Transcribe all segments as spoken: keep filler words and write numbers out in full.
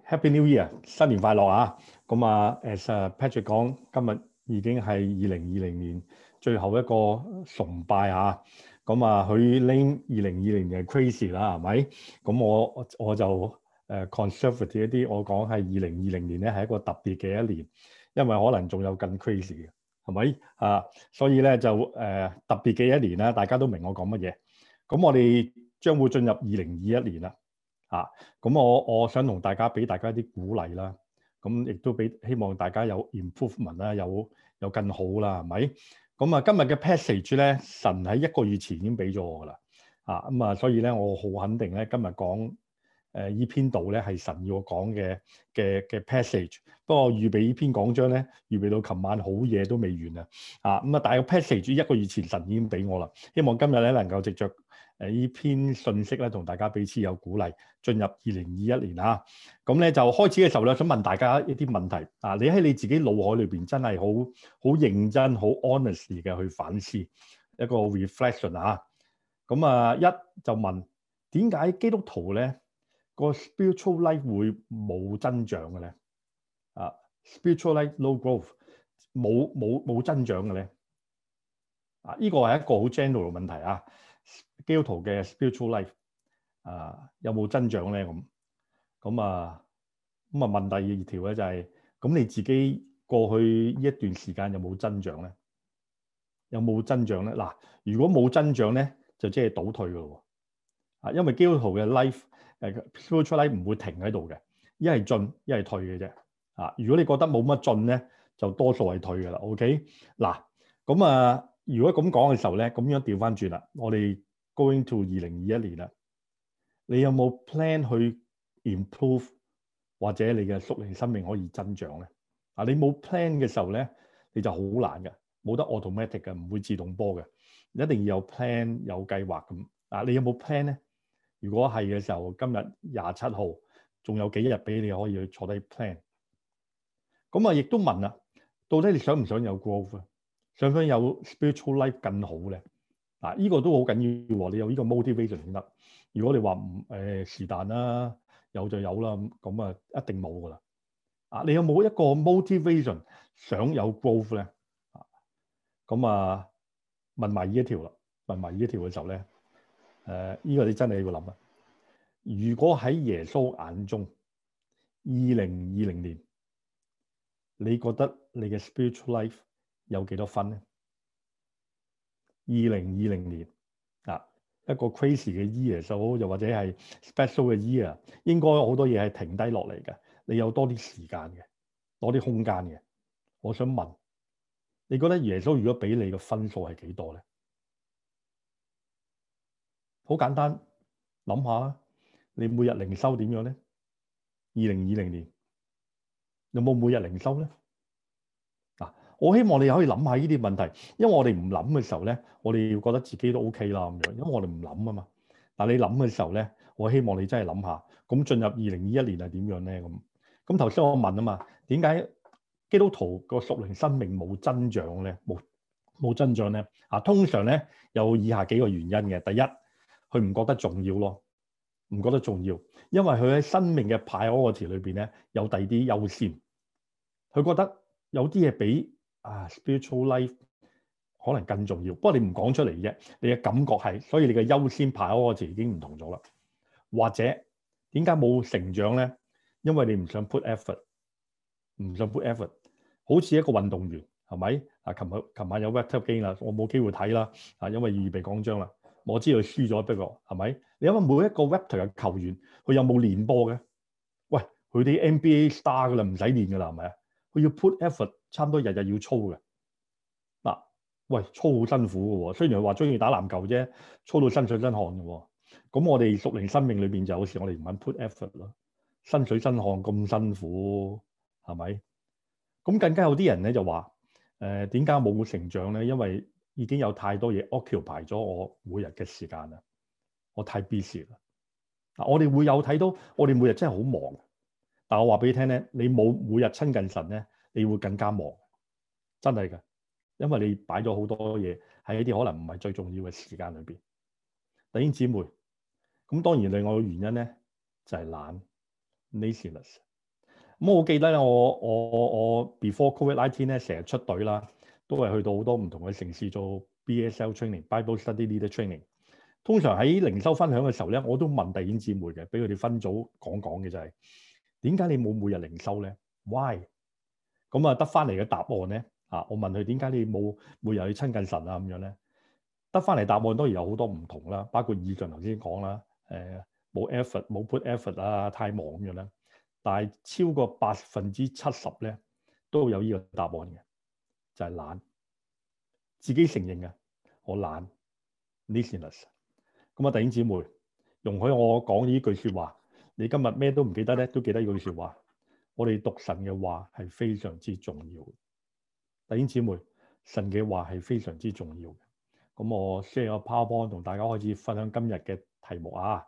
Happy New Year，新年快樂啊！咁啊，as Patrick 講，今日已經係二零二零年最後一個崇拜啊！咁啊，佢 name 二零二零年係 crazy 啦，係咪？咁我我就誒、uh, conservative 一啲，我講係二零二零年咧係一個特別嘅一年，因為可能仲有更 crazy 嘅，係咪啊？所以咧就誒、uh, 特別嘅一年啦，大家都明我講乜嘢。咁我哋將會進入二零二一年啦。啊，咁我我想同大家俾大家啲鼓勵啦，咁亦都俾希望大家有 improvement 啦，有有更好啦，係咪？咁啊，今日嘅 passage 咧，神喺一個月前已經俾咗我噶啦，啊咁啊，所以咧我好肯定咧，今日講誒依篇道咧係神要我講嘅嘅嘅 passage。不過我預備呢篇講章咧，預備到琴晚好夜都未完啊，啊咁啊，但係個 passage 一個月前神已經俾我啦，希望今日咧能夠藉着誒呢篇信息咧，同大家彼此有鼓勵，進入二零二一年啊！咁咧就開始嘅時候咧，想問大家一啲問題啊！你喺你自己腦海裏邊真係好好認真、好 honest 嘅去反思一個 reflection 啊！咁啊，一就問點解基督徒咧個 spiritual life 會冇增長嘅咧？啊 ，spiritual life low growth 冇冇冇增長嘅咧？啊，呢個係一個好 general 問題啊！基督徒嘅 spiritual life 啊，有冇增長咧？咁咁啊咁啊問第二條咧就係、是、咁你自己過去呢一段時間有冇增長咧？有冇增長咧？嗱，如果冇增長咧，就即係倒退㗎咯喎！啊，因為基督徒嘅 life 誒 spiritual life 唔會停喺度嘅，一係進一係退嘅啫。啊，如果你覺得冇乜進咧，就多數係退㗎啦。OK，嗱咁啊。如果咁講嘅時候咧，咁樣調翻轉啦，我哋 going to 二零二一年啦，你有冇 plan 去 improve 或者你嘅屬靈生命可以增長咧？啊，你冇 plan 嘅時候咧，你就好難嘅，冇得 automatic 嘅，唔會自動波嘅，一定要有 plan 有計劃咁。啊，你有冇 plan 咧？如果係嘅時候，今日廿七號仲有幾日俾你可以去坐低 plan。咁啊，亦都問啦，到底你想唔想有 growth 啊？想唔想有 spiritual life 更好咧？嗱，呢個都好緊要喎。你有呢個 motivation 先得。如果你話唔誒是但啦，有就有啦，咁啊一定冇噶啦。啊，你有冇一個 motivation 想有 growth 咧？啊，咁啊問埋呢一條啦，問埋呢一條嘅時候咧，誒、呃、呢、這個你真係要諗啊。如果喺耶穌眼中，二零二零年，你覺得你嘅 spiritual life 有幾多分咧？二零二零年啊，一個 crazy 嘅 year 就好，又或者係 special 嘅 year，應該好多嘢係停低落嚟嘅。你有多啲時間嘅，多啲空間嘅。我想問，你覺得耶穌如果俾你嘅分數係幾多咧？好簡單，諗下啊，你每日靈修點樣咧？二零二零年有冇每日靈修咧？嗱，我希望你可以諗下呢啲問題，因為我哋唔諗嘅時候咧，我哋要覺得自己都 OK 啦咁樣，因為我哋唔諗啊嘛。但係你諗嘅時候咧，我希望你真係諗下，咁進入二零二一年係點樣咧？咁咁頭先我問啊嘛，點解基督徒個屬靈生命冇增長咧？冇冇增長咧？啊，通常咧有以下幾個原因嘅。第一，佢唔覺得重要咯，唔覺得重要，因為佢喺生命嘅 priority 裏邊咧有第二啲優先，佢覺得有啲嘢比啊 spiritual life 可能更重要，不過你唔講出嚟啫，你嘅感覺係，所以你嘅優先排嗰個字已經唔同咗啦。或者點解冇成長咧？因為你唔想 put effort， 唔想 put effort， 好似一個運動員係咪？啊，琴日琴晚有 Raptors game 啦，我冇機會睇啦，啊，因為預備講章啦，我知道佢輸咗，不過係咪？你諗下每一個 Raptors 嘅球員，佢有冇練波嘅？喂，佢啲 N B A star 噶啦，唔使練噶啦，係咪啊？佢要 put effort， 差唔多日日要操嘅。嗱、啊，喂，操好辛苦嘅喎。雖然話中意打籃球啫，操到身水身汗嘅喎。咁我哋屬靈生命裏邊就有時我哋唔肯 put effort 咯，身水身汗咁辛苦，係咪？咁更加有啲人咧就話，誒點解冇成長咧？因為已經有太多嘢 occupy 咗我每日嘅時間啦，我太 busy 啦。嗱，我哋會有睇到，我哋每日真係好忙。但我話俾你聽咧，你冇每日親近神咧，你會更加忙，真係㗎，因為你擺咗好多嘢喺一啲可能唔係最重要嘅時間裏邊。弟兄姊妹，咁當然另外嘅原因咧就係懶 laziness。 咁我記得咧，我我我 before COVID nineteen 咧，成日出隊啦，都係去到好多唔同嘅城市做 B S L training、Bible Study Leader Training。通常喺靈修分享嘅時候咧，我都問弟兄姊妹嘅，俾佢哋分組講講嘅就係點解你冇每日靈修咧 ？Why？ 咁啊得翻嚟嘅答案咧啊，我問佢點解你冇每日去親近神啊咁樣咧？得翻嚟答案當然有好多唔同啦，包括以上頭先講啦，誒冇 effort 冇 put effort 啊，太忙咁樣啦。但係超過百分之七十咧都有呢個答案嘅，就係懶，自己承認嘅，我懶 laziness。咁啊，弟兄姊妹，容許我講呢句説話，你今日咩都唔記得咧，都記得呢句説話。我哋讀神嘅話係非常之重要嘅，弟兄姊妹，神嘅話係非常之重要嘅。咁我 share 個 PowerPoint 同大家開始分享今日嘅題目啊。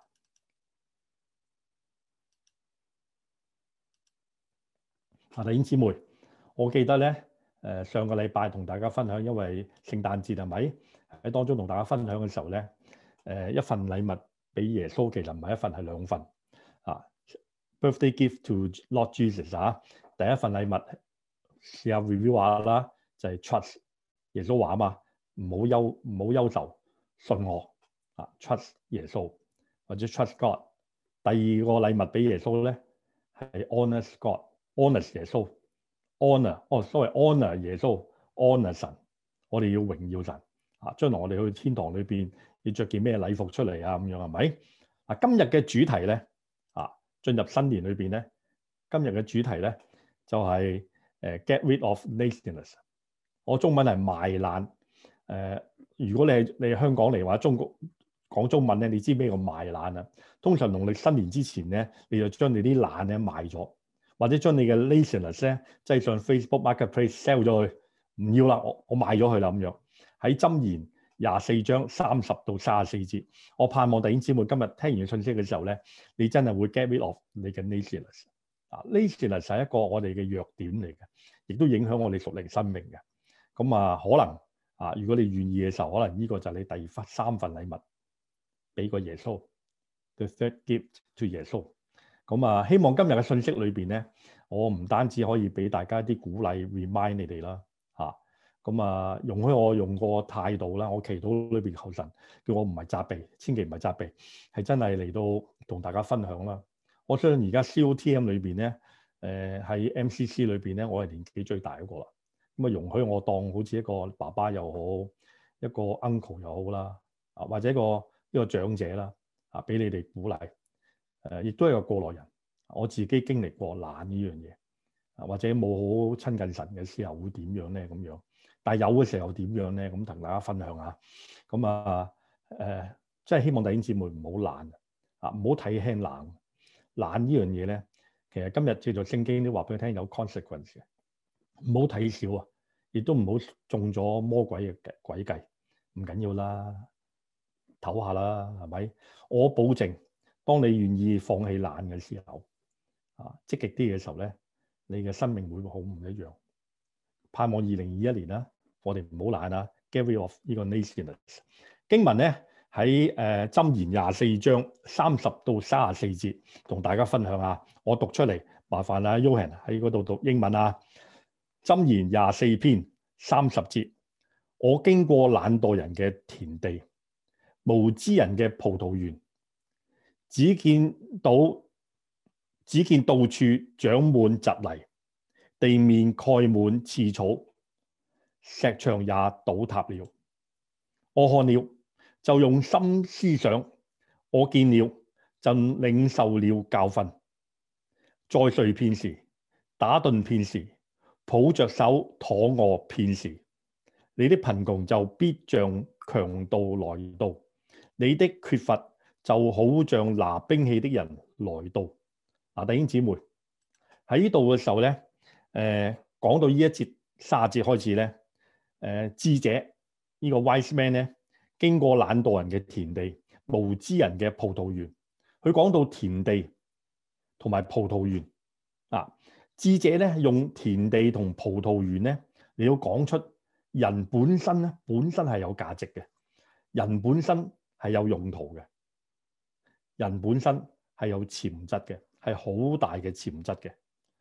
啊，弟兄姊妹，我記得咧，誒、呃、上個禮拜同大家分享，因為聖誕節係咪喺當中同大家分享嘅時候咧，誒、呃、一份禮物俾耶穌，其實唔係一份係兩份啊。Birthday gift to Lord Jesus 啊，第一份禮物試下 review 下啦，就係、是、trust 耶穌話啊嘛，唔好憂唔好憂愁，信我啊 ，trust 耶穌或者 trust God。第二個禮物俾耶穌咧係 honor God。honor 耶穌 ，honor 哦，sorry honor 耶穌 ，honor 神，我哋要榮耀神啊！將來我哋去天堂裏邊要着件咩禮服出嚟啊？咁樣係咪？啊，今日嘅主題咧啊，進入新年裏邊咧，今日嘅主題咧就係、是、誒、呃、get rid of laziness。我中文係賣懶。誒、呃，如果你係你係香港嚟話中國講中文咧，你知咩叫賣懶啊？通常農曆新年之前咧，你就將你啲懶咧賣咗。或者將你嘅 laziness 咧，即係上 Facebook Marketplace sell 咗佢，唔要啦，我我賣咗佢啦咁樣。喺箴言廿四章三十到三十四節，我盼望弟兄姊妹今日聽完信息嘅時候咧，你真係會 get rid of 你嘅 laziness。啊 ，laziness 係一個我哋嘅弱點嚟嘅，亦都影響我哋屬靈生命嘅。咁啊，可能啊，如果你願意嘅時候，可能呢個就係你第三份禮物，俾個耶穌 the third gift to 耶穌。咁啊，希望今日嘅信息裏邊咧，我唔單止可以俾大家啲鼓勵 remind 你哋啦，嚇。咁啊，容許我用個態度啦，我祈禱裏邊求神，叫我唔係責備，千祈唔係責備，係真係嚟到同大家分享啦。我相信而家 C O T M 裏邊咧，誒、呃、喺 M C C 裏邊咧，我係年紀最大嗰個啦。咁啊，容許我當好似一個爸爸又好，一個 uncle 又好啦，啊或者一個一個長者啦，啊俾你哋鼓勵。誒，亦都係個過來人，我自己經歷過懶呢樣嘢，啊或者冇好親近神嘅時候會點樣咧咁樣，但係有嘅時候點樣咧咁同大家分享下。咁啊誒，即係希望弟兄姊妹唔好懶啊，唔好睇輕懶。懶呢樣嘢咧，其實今日借助聖經都話俾你聽有 consequence 嘅，唔好睇小啊，亦都唔好中咗魔鬼嘅詭計，唔緊要啦，唞下啦，係咪？我保證。當你願意放棄懶嘅時候，啊，積極啲嘅時候咧，你嘅生命會好唔一樣。盼望二零二一年啦，我哋唔好懶啊 ，get rid of 呢個 laziness。經文咧喺誒箴言廿四章三十到三十四節，同大家分享下。我讀出嚟，麻煩啊 Yohan 喺嗰度讀英文啊。箴言廿四篇三十節，我經過懶惰人嘅田地，無知人嘅葡萄園。只見到只見到處長滿蒺藜，地面蓋滿刺草，石牆也倒塌了。我看了就用心思想，我見了就領受了教訓。再睡片時，打盹片時，抱着手躺臥片時，你的貧窮就必像強盜來到，你的缺乏就好像拿兵器的人來到。嗱，弟兄姊妹喺呢度嘅時候咧，誒、呃、講到呢一節卅節開始咧，誒、呃、智者、這個、呢個 wise man 咧，經過懶惰人嘅田地、無知人嘅葡萄園。佢講到田地同埋葡萄園啊，智者咧用田地同葡萄園咧，你要講出人本身咧，本身係有價值嘅，人本身係有用途嘅。人本身係有潛質嘅，係好大嘅潛質嘅。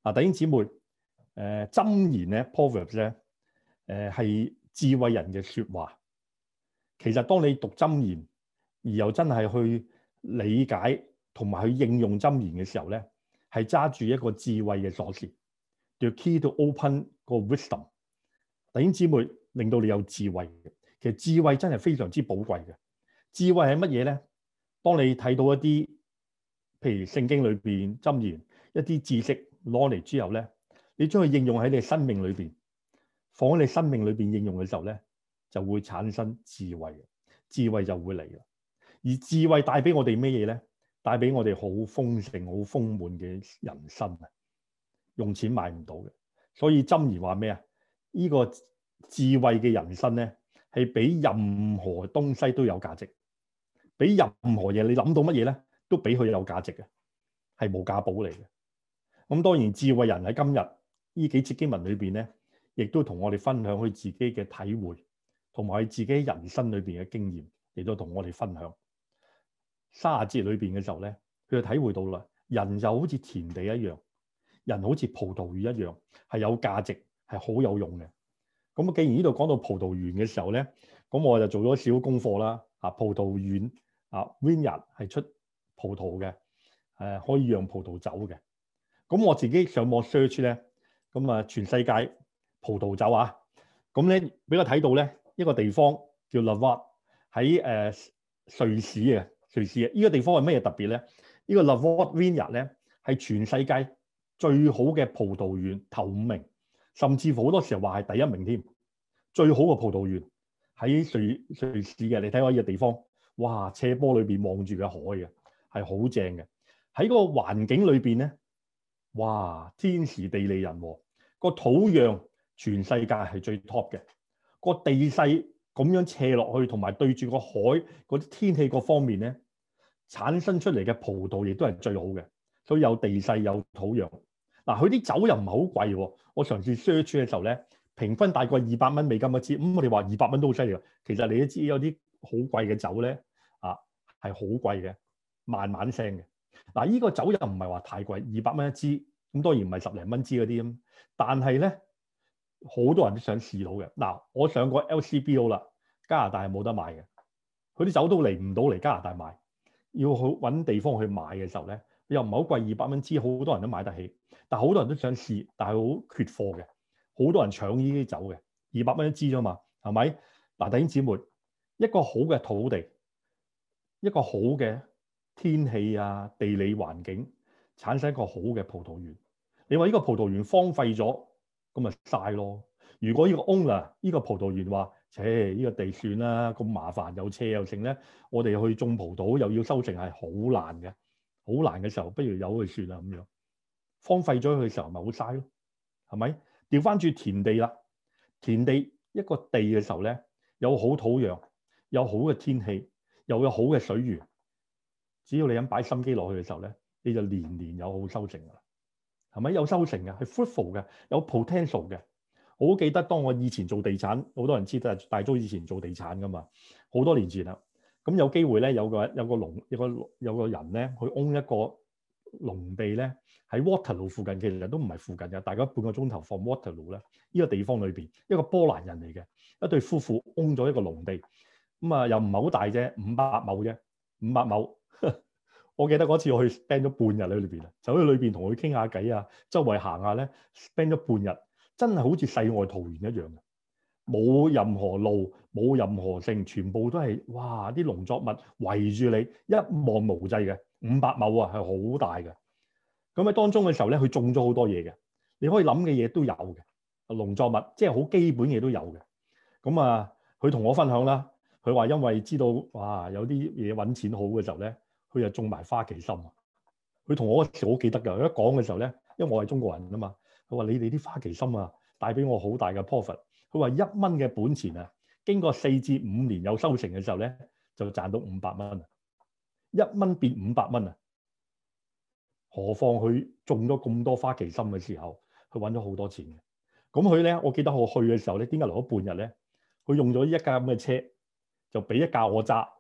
啊，弟兄姊妹，誒、呃、箴言咧 Proverbs 咧，誒係、呃、智慧人嘅説話。其實當你讀箴言，而又真係去理解同埋去應用箴言嘅時候咧，係揸住一個智慧嘅鎖匙 ，the key to open 個 wisdom。弟兄姊妹，令到你有智慧嘅。其實智慧真係非常之寶貴嘅。智慧係乜嘢咧？當你睇到一啲譬如聖經裏邊箴言一啲知識攞嚟之後咧，你將佢應用喺你生命裏邊，放喺你生命裏邊應用嘅時候咧，就會產生智慧嘅，智慧就會嚟啦。而智慧帶俾我哋咩嘢咧？帶俾我哋好豐盛、好豐滿嘅人生啊！用錢買唔到嘅。所以箴言話咩啊？呢個智慧嘅人生咧，係比任何東西都有價值，比任何嘢你諗到乜嘢咧，都比佢有價值嘅，係無價寶嚟嘅。咁當然智慧人喺今日呢幾節經文裏邊咧，亦都同我哋分享佢自己嘅體會，同埋佢自己人生裏邊嘅經驗，亦都同我哋分享。三十節裏邊嘅時候咧，佢就體會到啦，人就好似田地一樣，人好似葡萄園一樣，係有價值，係好有用嘅。咁既然呢度講到葡萄園嘅時候咧，咁我就做咗少少功課啦。啊，葡萄園啊 ，vineyard 係出葡萄嘅，誒、啊、可以釀葡萄酒嘅。咁我自己上網 search 咧，咁啊全世界葡萄酒啊，咁咧俾我睇到咧一個地方叫 Lavard 喺誒瑞士嘅。瑞士啊！呢個地方係咩嘢特別咧？呢個 Lavard Vineyard 咧係全世界最好嘅葡萄園頭五名，甚至乎好多時候話係第一名添。最好嘅葡萄園喺瑞瑞士嘅，你睇下呢個地方，哇！斜坡裏邊望住嘅海嘅係好正嘅。喺個環境裏邊咧，哇！天時地利人和，個土壤全世界係最 top 嘅，個地勢咁樣斜落去，同埋對住個海嗰啲天氣各方面咧，產生出嚟嘅葡萄亦都係最好嘅，所以有地勢有土壤。嗱，佢啲酒又唔係好貴喎。我嘗試 search 嘅時候咧，平均大概二百蚊美金一支。咁、嗯、我哋話二百蚊都好犀利喎。其實你都知有啲好貴嘅酒咧，啊係好貴嘅，慢慢升嘅。嗱，呢個酒又唔係話太貴，二百蚊一支，咁當然唔係十零蚊支嗰啲咁。但係咧，好多人都想試到嘅。嗱，我上過 L C B O 啦，加拿大係冇得買嘅，佢啲酒都嚟唔到嚟加拿大買。要去揾地方去買嘅時候咧，又唔係好貴，二百蚊支，好多人都買得起。但係好多人都想試，但係好缺貨嘅，好多人搶呢啲酒嘅，二百蚊一支啫嘛，係咪？嗱，弟兄姊妹，一個好嘅土地，一個好嘅天氣啊，地理環境，產生一個好嘅葡萄園。你話呢個葡萄園荒廢咗，咁咪嘥咯。如果呢個 owner 呢個葡萄園話，切，呢個地算啦，咁麻煩又斜又剩咧，我哋去種葡萄又要收成係好難嘅，好難嘅時候，不如由佢算啦咁樣。荒廢咗佢嘅時候，咪好嘥咯，係咪？調翻轉田地啦，田地一個地嘅時候咧，有好土壤，有好嘅天氣，又有好嘅水源，只要你肯擺心機落去嘅時候咧，你就年年有好收成㗎啦，係咪？有收成嘅，係 fruitful 嘅，有 potential 嘅。我好記得當我以前做地產，好多人知道大租以前做地產噶嘛，好多年前啦。咁有機會咧，有個有個農有個有個人咧，去 own 一個農地咧，喺 Waterloo 附近，其實都唔係附近嘅，大概半個鐘頭 from Waterloo 咧。呢個地方裏邊，一個波蘭人嚟嘅一對夫婦 own 咗一個農地，咁啊又唔係好大啫，五百畝啫，五百畝。我記得嗰次我去 spend 咗半日喺裏邊啊，走去裏邊同佢傾下偈啊，周圍行下咧 spend 咗半日。真係好似世外桃源一樣嘅，冇任何路，冇任何性，全部都係哇啲農作物圍住你，一望無際嘅，五百畝啊，係好大嘅。咁喺當中嘅時候咧，佢種咗好多嘢嘅，你可以諗嘅嘢都有嘅，農作物即係好基本嘢都有嘅。咁啊，佢同我分享啦，佢話因為知道哇有啲嘢揾錢好嘅時候咧，佢就種埋花旗參啊。佢同我嗰時好記得㗎，佢一講嘅時候咧，因為我係中國人啊嘛。佢話：你哋啲花旗參啊，帶俾我好大嘅 profit。佢話一蚊嘅本錢啊，經過四至五年有收成嘅時候咧，就賺到五百蚊啊！一蚊變五百蚊啊！何況佢種咗咁多花旗參嘅時候，佢揾咗好多錢嘅。咁佢咧，我記得我去嘅時候咧，點解留咗半日咧？佢用咗一架咁嘅車，就俾一架我揸，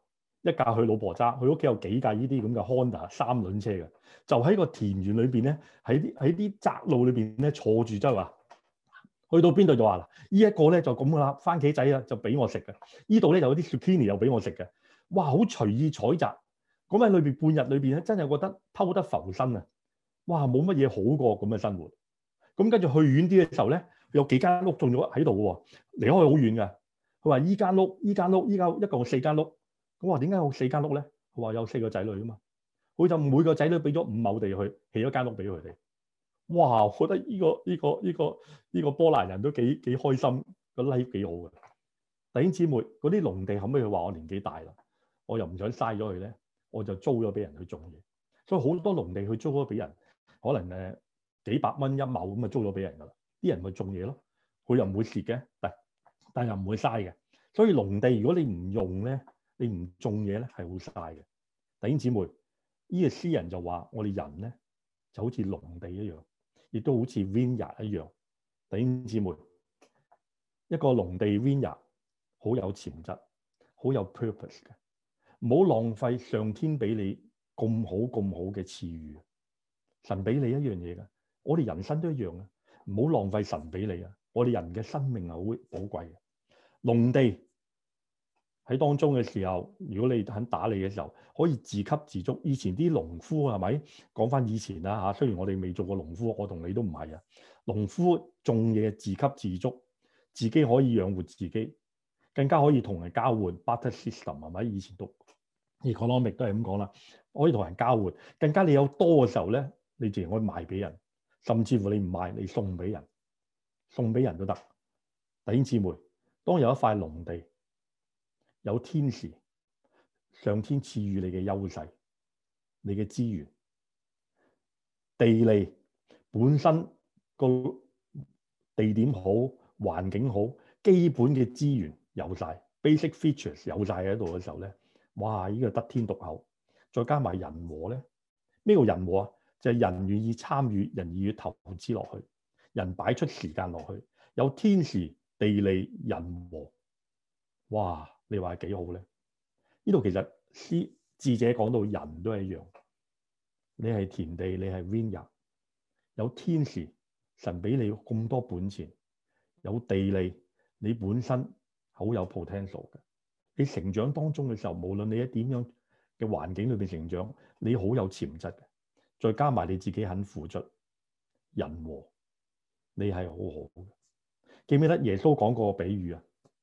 一架佢老婆揸，佢屋企有幾架呢啲咁嘅 Honda 三輪車嘅，就喺個田園裏邊咧，喺啲喺啲窄路裏邊咧坐住周圍，去到邊度就話啦，呢一個咧就咁噶啦，番茄仔啊就俾我食嘅，呢度咧就有啲 zucchini 又俾我食嘅，哇好隨意採摘，咁喺裏邊半日裏邊咧真係覺得偷得浮生啊，哇冇乜嘢好過咁嘅生活，咁跟住去遠啲嘅時候咧，有幾間屋種咗喺度喎，離開好遠嘅，佢話依間屋依間屋依間一共四間屋。咁話點解有四間屋咧？佢話有四個仔女啊嘛，佢就每個仔女俾咗五畝地去起咗間屋俾佢哋。哇！我覺得呢個呢個呢個呢個波蘭人都幾幾開心，個 life 幾好嘅。弟兄姊妹，嗰啲農地後尾佢話我年紀大啦，我又唔想嘥咗佢咧，我就租咗俾人去種嘢。所以好多農地佢租咗俾人，可能誒幾百蚊一畝咁啊租咗俾人㗎啦。啲人咪種嘢咯，佢又唔會蝕嘅，但但又唔會嘥嘅。所以農地如果你唔用咧，你唔種嘢咧係好嘥嘅。弟兄姊妹，呢個詩人就話我哋人咧就好似農地一樣，亦都好似 vineyard 一樣。弟兄姊妹，一個農地 vineyard 好有潛質，好有 purpose 嘅，唔好浪費上天俾你咁好咁好嘅賜予。神俾你一樣嘢嘅，我哋人生都一樣嘅，唔好浪費神俾你啊！我哋人嘅生命係好寶貴嘅，農地。喺當中嘅時候，如果你肯打理嘅時候，可以自給自足。以前啲農夫係咪講翻以前啦嚇？雖然我哋未做過農夫，我同你都唔係啊。農夫種嘢自給自足，自己可以養活自己，更加可以同人交換 barter system 係咪？以前讀 economic 都係咁講啦，可以同人交換。更加你有多嘅時候咧，你自然可以賣俾人，甚至乎你唔賣，你送俾人，送俾人都得。弟兄姊妹，當有一塊農地，有天時，上天賜予你嘅優勢，你嘅資源、地利本身個地點好、環境好，基本嘅資源有晒 basic features 有晒喺度嘅時候咧，哇！呢個得天獨厚，再加埋人和咧，咩叫人和啊？就係人願意參與，人願意投資落去，人擺出時間落去，有天時、地利、人和，哇！你話係幾好咧？呢度其實詩智者講到人都係一樣，你係田地，你係 vineyard，有天時，神俾你咁多本錢，有地利，你本身好有 potential 嘅。你成長當中嘅時候，無論你喺點樣嘅環境裏邊成長，你好有潛質嘅。再加埋你自己肯付出，人和，你係好好嘅。記唔記得耶穌講過個比喻啊？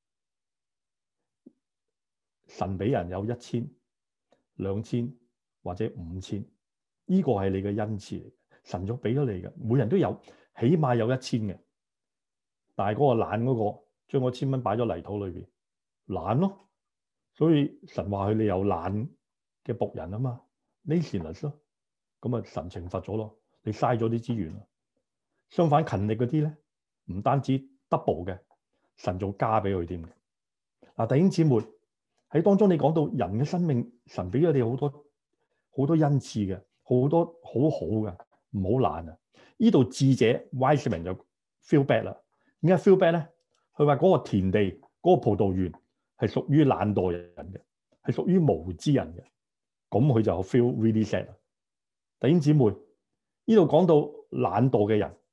神俾人有一千、兩千或者五千，呢個係你嘅恩賜嚟。神就俾咗你嘅，每人都有，起碼有一千嘅。但係嗰個懶嗰個，將嗰千蚊擺咗泥土裏邊，懶咯。所以神話佢哋有懶嘅僕人啊嘛 ，laziness 咯。咁啊，神懲罰咗咯，你嘥咗啲資源啦。相反勤力嗰啲咧，唔單止 double 嘅，神仲加俾佢添嘅。嗱，弟兄姊妹。喺當中，你講到人嘅生命，神俾咗你好多好多恩賜嘅，好多好好嘅，唔好懶啊！呢度智者 wise man 就 feel bad 啦。點解 feel bad 咧？佢話嗰個田地、嗰、嗰個葡萄園係屬於懶惰人嘅，係屬於無知人嘅。咁佢就 feel really sad。弟兄姊妹，呢度講到懶惰嘅人、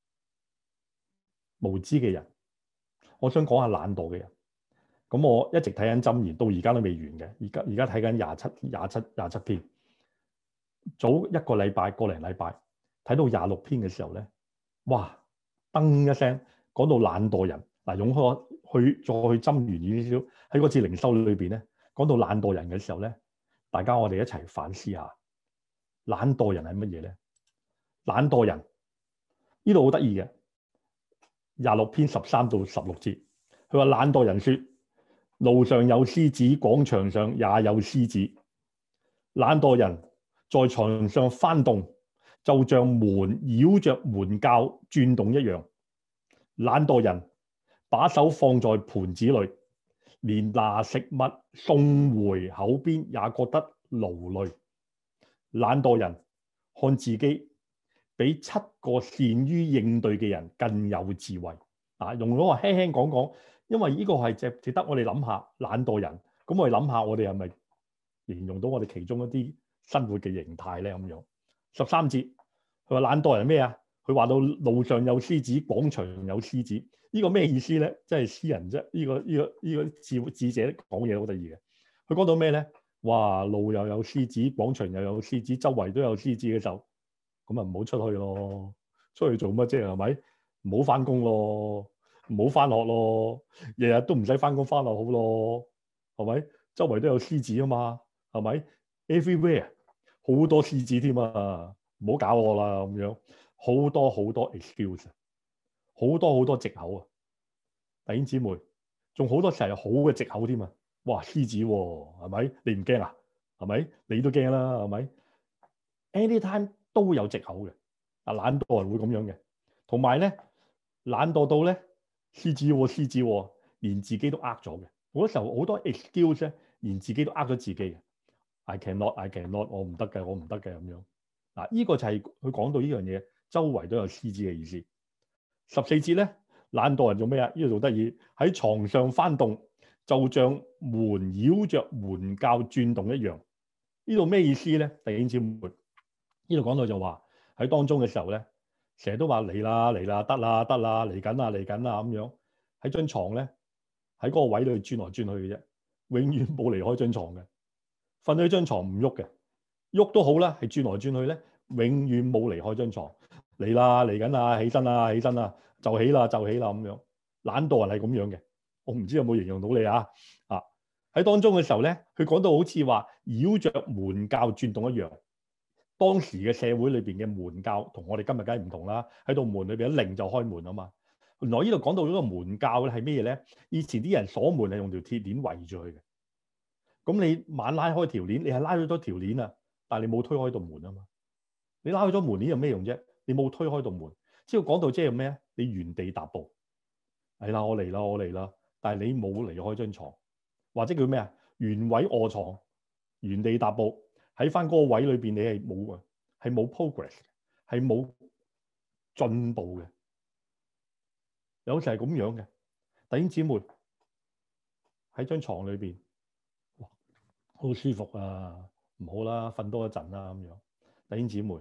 無知嘅人，我想講下懶惰嘅人。咁我一直睇緊箴言，到而家都未完嘅。而家而家睇緊廿七、廿七、廿七篇。早一個禮拜、個零禮拜睇到廿六篇嘅時候咧，哇！噔一聲講到懶惰人嗱，用開去再去箴言少少喺嗰次靈修裏邊咧，講到懶惰人嘅時候咧，大家我哋一齊反思下，懶惰人係乜嘢咧？懶惰人呢度好得意嘅，廿六篇十三到十六節，佢話懶惰人說。路上有獅子，廣場上也有獅子。懶惰人在床上翻動，就像門繞着門鉸轉動一樣。懶惰人把手放在盤子裏，連拿食物送回口邊也覺得勞累。懶惰人看自己比七個善於應對嘅人更有智慧。啊，用咗個輕輕講講。因為呢個係值值得我哋諗下懶惰人，咁我哋諗下我哋係咪形容到我哋其中一啲生活嘅形態咧？咁樣十三節，佢話懶惰人咩啊？佢話到路上有獅子，廣場有獅子，呢個咩意思咧？即係詩人啫，呢個呢個呢個智智者講嘢好得意嘅。佢講到咩咧？哇，路又有獅子，廣場又有獅子，周圍都有獅子嘅時候，咁啊唔好出去咯，出去做乜啫？係咪？唔好翻工咯，唔好翻學咯，日日都唔使翻工翻學好咯，係咪？周圍都有獅子啊嘛，係咪 ？Everywhere 好多獅子添啊！唔好搞我啦咁樣，好多好多 excuse，好多好多藉口啊！弟兄姊妹，仲好多時係好嘅藉口添啊！哇，獅子喎、啊，係咪？你唔驚啊？係咪？你都驚啦，係咪 ？Anytime 都會有藉口嘅，啊懶惰人會咁樣嘅，同埋咧懶惰到咧獅子喎、啊、獅子喎、啊，連自己都呃咗嘅。好多時候好多 excuse 咧，連自己都呃咗自己嘅。I cannot, I cannot，我唔得嘅，我唔得嘅咁樣。嗱，呢個就係佢講到呢樣嘢，周圍都有獅子嘅意思。十四節咧，懶惰人做咩啊？呢度做得意，喺床上翻動，就像門繞着門鉸轉動一樣。呢度咩意思咧？弟兄姊妹，呢度講到就話喺當中嘅時候咧，成日都話嚟啦嚟啦，得啦得啦，嚟緊啦嚟緊啦咁樣。喺張床咧，喺嗰個位度轉來轉去嘅啫，永遠冇離開張床嘅。瞓喺張床唔喐嘅，喐都好啦，係轉來轉去咧，永遠冇離開張床。嚟啦，嚟緊啦，起身啦，起身啦，就起啦，就起啦咁樣。懶惰人係咁樣嘅，我唔知有冇形容到你啊？啊，喺當中嘅時候咧，佢講到好似話繞着門鉸轉動一樣。當時嘅社會裏邊嘅門鉸同我哋今日梗係唔同啦。喺度門裏邊一擰就開門啊嘛。原來呢度講到嗰個門鉸咧係咩嘢咧？以前啲人鎖門係用條鐵鏈圍住佢嘅。咁你猛拉開條鏈，你係拉咗多條鏈啊，但係你冇推開道門啊嘛。你拉開咗門鏈有咩用啫？你冇推開道門，之後講到即係咩？你原地踏步，係啦，我嚟啦，我嚟啦，但係你冇離開張床，或者叫咩啊？原位臥床，原地踏步喺翻嗰個位裏邊，你係冇啊，係冇 progress，係冇進步嘅。有時係咁樣嘅，弟兄姊妹喺張床裏邊。好舒服啊，唔好啦，瞓多一陣啦咁樣。弟兄姊妹，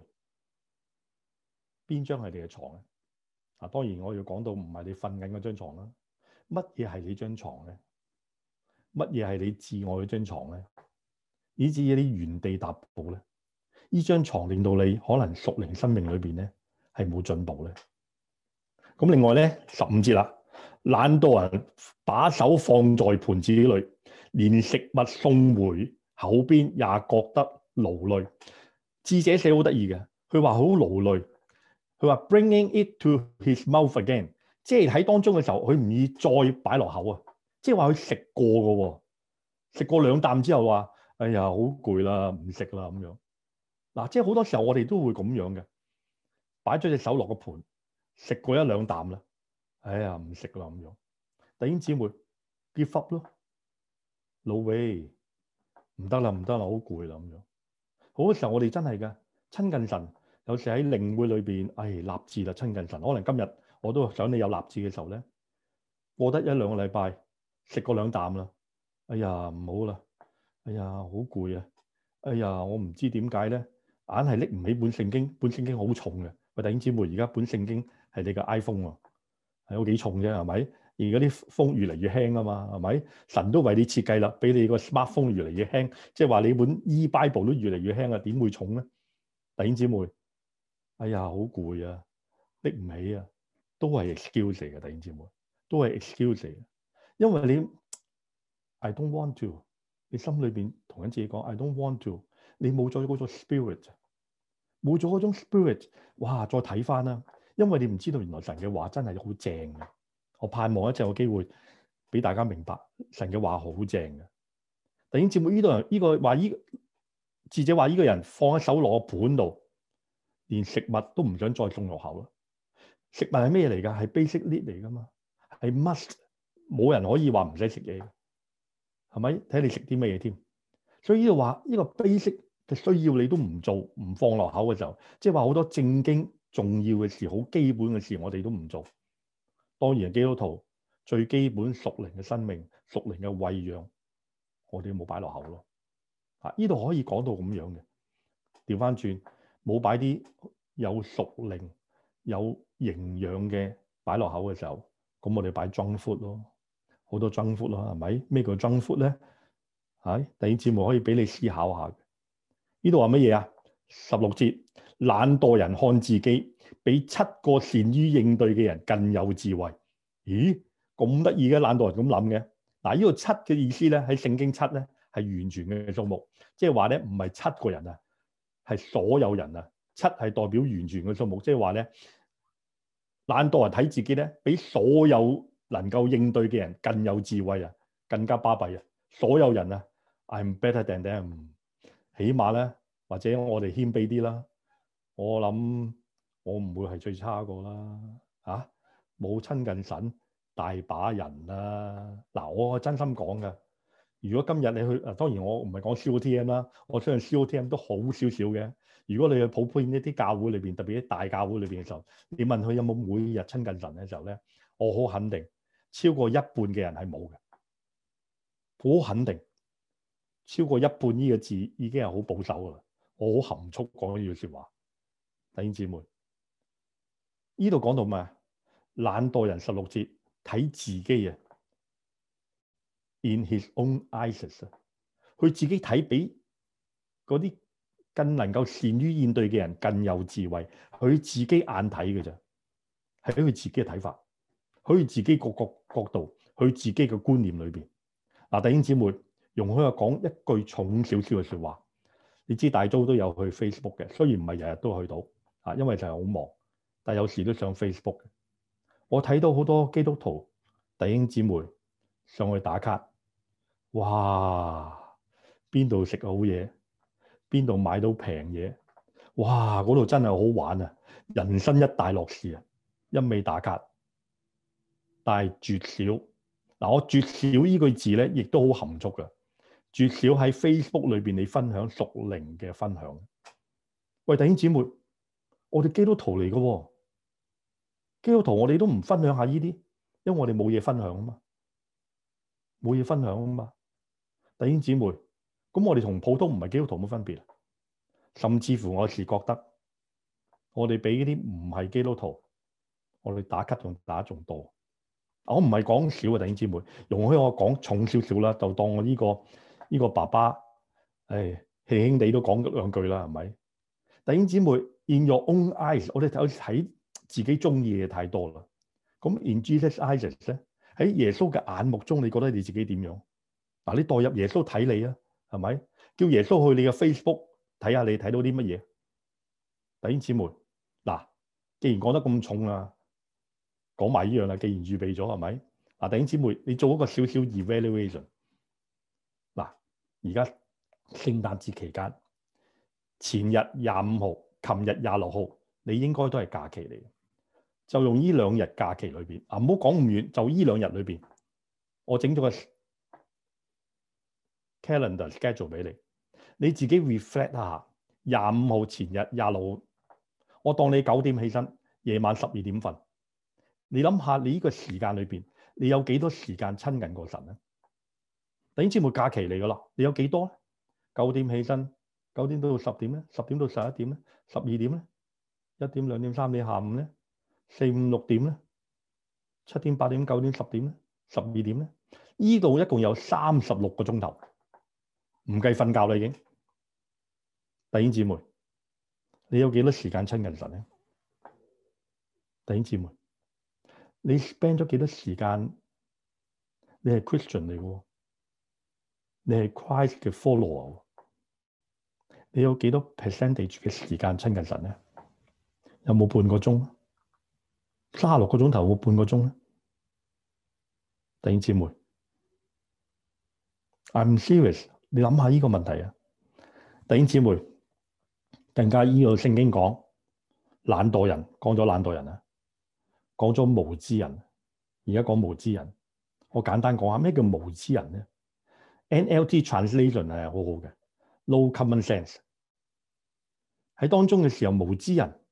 邊張係你嘅床咧？啊，當然我要講到唔係你瞓緊嗰張床啦。乜嘢係你張床咧？乜嘢係你至愛嗰張床咧？以至於你原地踏步咧？呢張床令到你可能屬靈生命裏邊咧係冇進步咧。咁另外咧十五節啦，懶惰人把手放在盤子裏，連食物送回口邊也覺得勞累。智者寫好得意嘅，佢話好勞累。佢話 bringing it to his mouth again， 即係喺當中嘅時候，佢唔易再擺落口啊。即係話佢食過嘅喎，食過兩啖之後話：哎呀，好攰啦，唔食啦咁樣。嗱，即係好多時候我哋都會咁樣嘅，擺咗隻手落個盤，食過一兩啖啦，哎呀，唔食啦咁樣。弟兄姊妹 give up 咯，no way，唔得啦，唔得啦，好攰啦咁樣。好多時候我哋真係嘅親近神，有時喺靈會裏邊，哎，立志啦，親近神。可能今日我都想你有立志嘅時候咧，過得一兩個禮拜，食過兩啖啦，哎呀，唔好啦，哎呀，好攰啊，哎呀，我唔知點解咧，硬係拎唔起本聖經，本聖經好重嘅。喂，弟兄姊妹，而家本聖經係你嘅 iPhone 啊，係有幾重啫，係咪？而家啲風越嚟越輕啊嘛，係咪？神都為你設計啦，俾你個 smartphone 越嚟越輕，即係話你本 e-Bible 都越嚟越輕啊，點會重咧？弟兄姊妹，哎呀，好攰啊，拎唔起啊，都係 excuse 嚟嘅，弟兄姊妹，都係 excuse 嚟嘅，因為你 I don't want to， 你心裏邊同緊自己講 I don't want to， 你冇咗嗰種 spirit， 冇咗嗰種 spirit， 哇！再睇翻啦，因為你唔知道原來神嘅話真係好正嘅。我盼望一陣有機會俾大家明白神嘅話好正嘅。弟兄姊妹，呢度人呢個話呢智者話呢個人放喺手攞盤度，連食物都唔想再送落口啦。食物係咩嚟㗎？係 basic need 嚟㗎嘛，係 must， 冇人可以話唔使食嘢，係咪？睇你食啲咩嘢添。所以呢度話呢個 basic 嘅需要你都唔做，唔放落口嘅時候，即係話好多正經重要嘅事，好基本嘅事，我哋都唔做。當然，基督徒最基本屬靈嘅生命、屬靈嘅餵養，我哋冇擺落口咯。 啊，呢度可以講到咁樣嘅。調翻轉，冇擺啲有屬靈、有營養嘅擺落口嘅時候，咁我哋擺 junk food 咯，好多 junk food 咯，係咪？咩叫 junk food 咧？係第二節目可以俾你思考下嘅。呢度話乜嘢啊？十六節，懶惰人看自己比七個善於應對嘅人更有智慧。咦，咁得意嘅懶惰人咁諗嘅？嗱，呢個七嘅意思咧，喺聖經七咧係完全嘅數目，即係話咧唔係七個人啊，係所有人啊。七係代表完全嘅數目，即係話咧懶惰人睇自己咧比所有能夠應對嘅人更有智慧啊，更加巴閉啊！所有人啊 ，I'm better than them。起碼咧，或者我哋謙卑啲啦。我諗我唔會係最差個啦。嚇、啊，冇親近神，大把人啦。嗱，我真心講㗎。如果今日你去，啊，當然我唔係講 C O T M 啦，我相信 C O T M 都好少少嘅。如果你去普遍一啲教會裏邊，特別啲大教會裏邊嘅時候，你問佢有冇每日親近神嘅時候咧，我好肯定超過一半嘅人係冇嘅，好肯定。超過一半呢個字已經係好保守噶啦，我好含蓄講呢句説話。弟兄姊妹，呢度講到咩？懶惰人十六節睇自己啊 ，in his own eyes 啊，佢自己睇比嗰啲更能夠善於應對嘅人更有智慧，佢自己眼睇嘅啫，係喺佢自己嘅睇法，喺佢自己個角角度，佢自己嘅觀念裏邊。嗱，弟兄姊妹。容許我講一句重少少嘅説話，你知大租都有去 Facebook 嘅，雖然唔係日日都去到啊，因為就係好忙，但係有時都上 Facebook 嘅。我睇到好多基督徒弟兄姊妹上去打卡，哇！邊度食好嘢，邊度買到平嘢，哇！嗰度真係好玩啊，人生一大樂事啊，一味打卡，但係絕少嗱，我絕少呢句字咧，亦都好含蓄㗎。絕少喺 Facebook 裏邊你分享屬靈嘅分享。喂，弟兄姊妹，我哋基督徒嚟嘅喎，基督徒我哋都唔分享下呢啲，因為我哋冇嘢分享啊嘛，冇嘢分享啊嘛。弟兄姊妹，咁我哋同普通唔係基督徒冇分別，甚至乎我是覺得我哋比嗰啲唔係基督徒，我哋打卡仲打仲多。我唔係講少啊，弟兄姊妹，容許我講重少少啦，就當我呢個。呢個爸爸，誒，輕輕地都講咗兩句啦，係咪？弟兄姊妹 ，in your own eyes，我哋睇睇自己中意嘅太多啦。咁 in Jesus' eyes 咧，喺耶穌嘅眼目中，你覺得你自己點樣？嗱，你代入耶穌睇你啊，係咪？叫耶穌去你嘅 Facebook 睇下你睇到啲乜嘢？弟兄姊妹，嗱，既然講得咁重啦，講埋呢樣啦，既然預備咗，係咪？嗱，弟兄姊妹，你做一個少少 evaluation。而家聖誕節期間，前日廿五號，琴日廿六號，你應該都係假期嚟。就用呢兩日假期裏邊，啊，唔好講咁遠，就呢兩日裏邊，我整咗個 calendar schedule 俾你，你自己 reflect 下。廿五號前日，廿六號，我當你九點起身，夜晚十二點瞓。你諗下，你呢個時間裏邊，你有幾多時間親近過神咧？弟兄姊妹，假期嚟噶啦，你有幾多咧？九點起身，九點到十點咧，十點到十一點咧，十二點咧，一點、兩點、三點，下午咧，四五六點咧，七點、八點、九點、十點咧，十二點咧，呢度一共有三十六個鐘頭，唔計瞓覺啦已經。弟兄姊妹，你有幾多時間親近神咧？弟兄姊妹，你 spend 咗幾多時間？你係 Christian 嚟嘅。你係 Christ 嘅 follower，你有幾多 percentage 嘅時間親近神咧？有冇半個鐘？三十六個鐘頭有冇半個鐘咧？弟兄姊妹 ，I'm serious，你諗下呢個問題啊！弟兄姊妹，更加依個聖經講懶惰人，講咗懶惰人啊，講咗無知人，而家講無知人。我簡單講下咩叫無知人咧？N L T translation 係好好嘅 ，no common sense 喺當中嘅時候，無知人，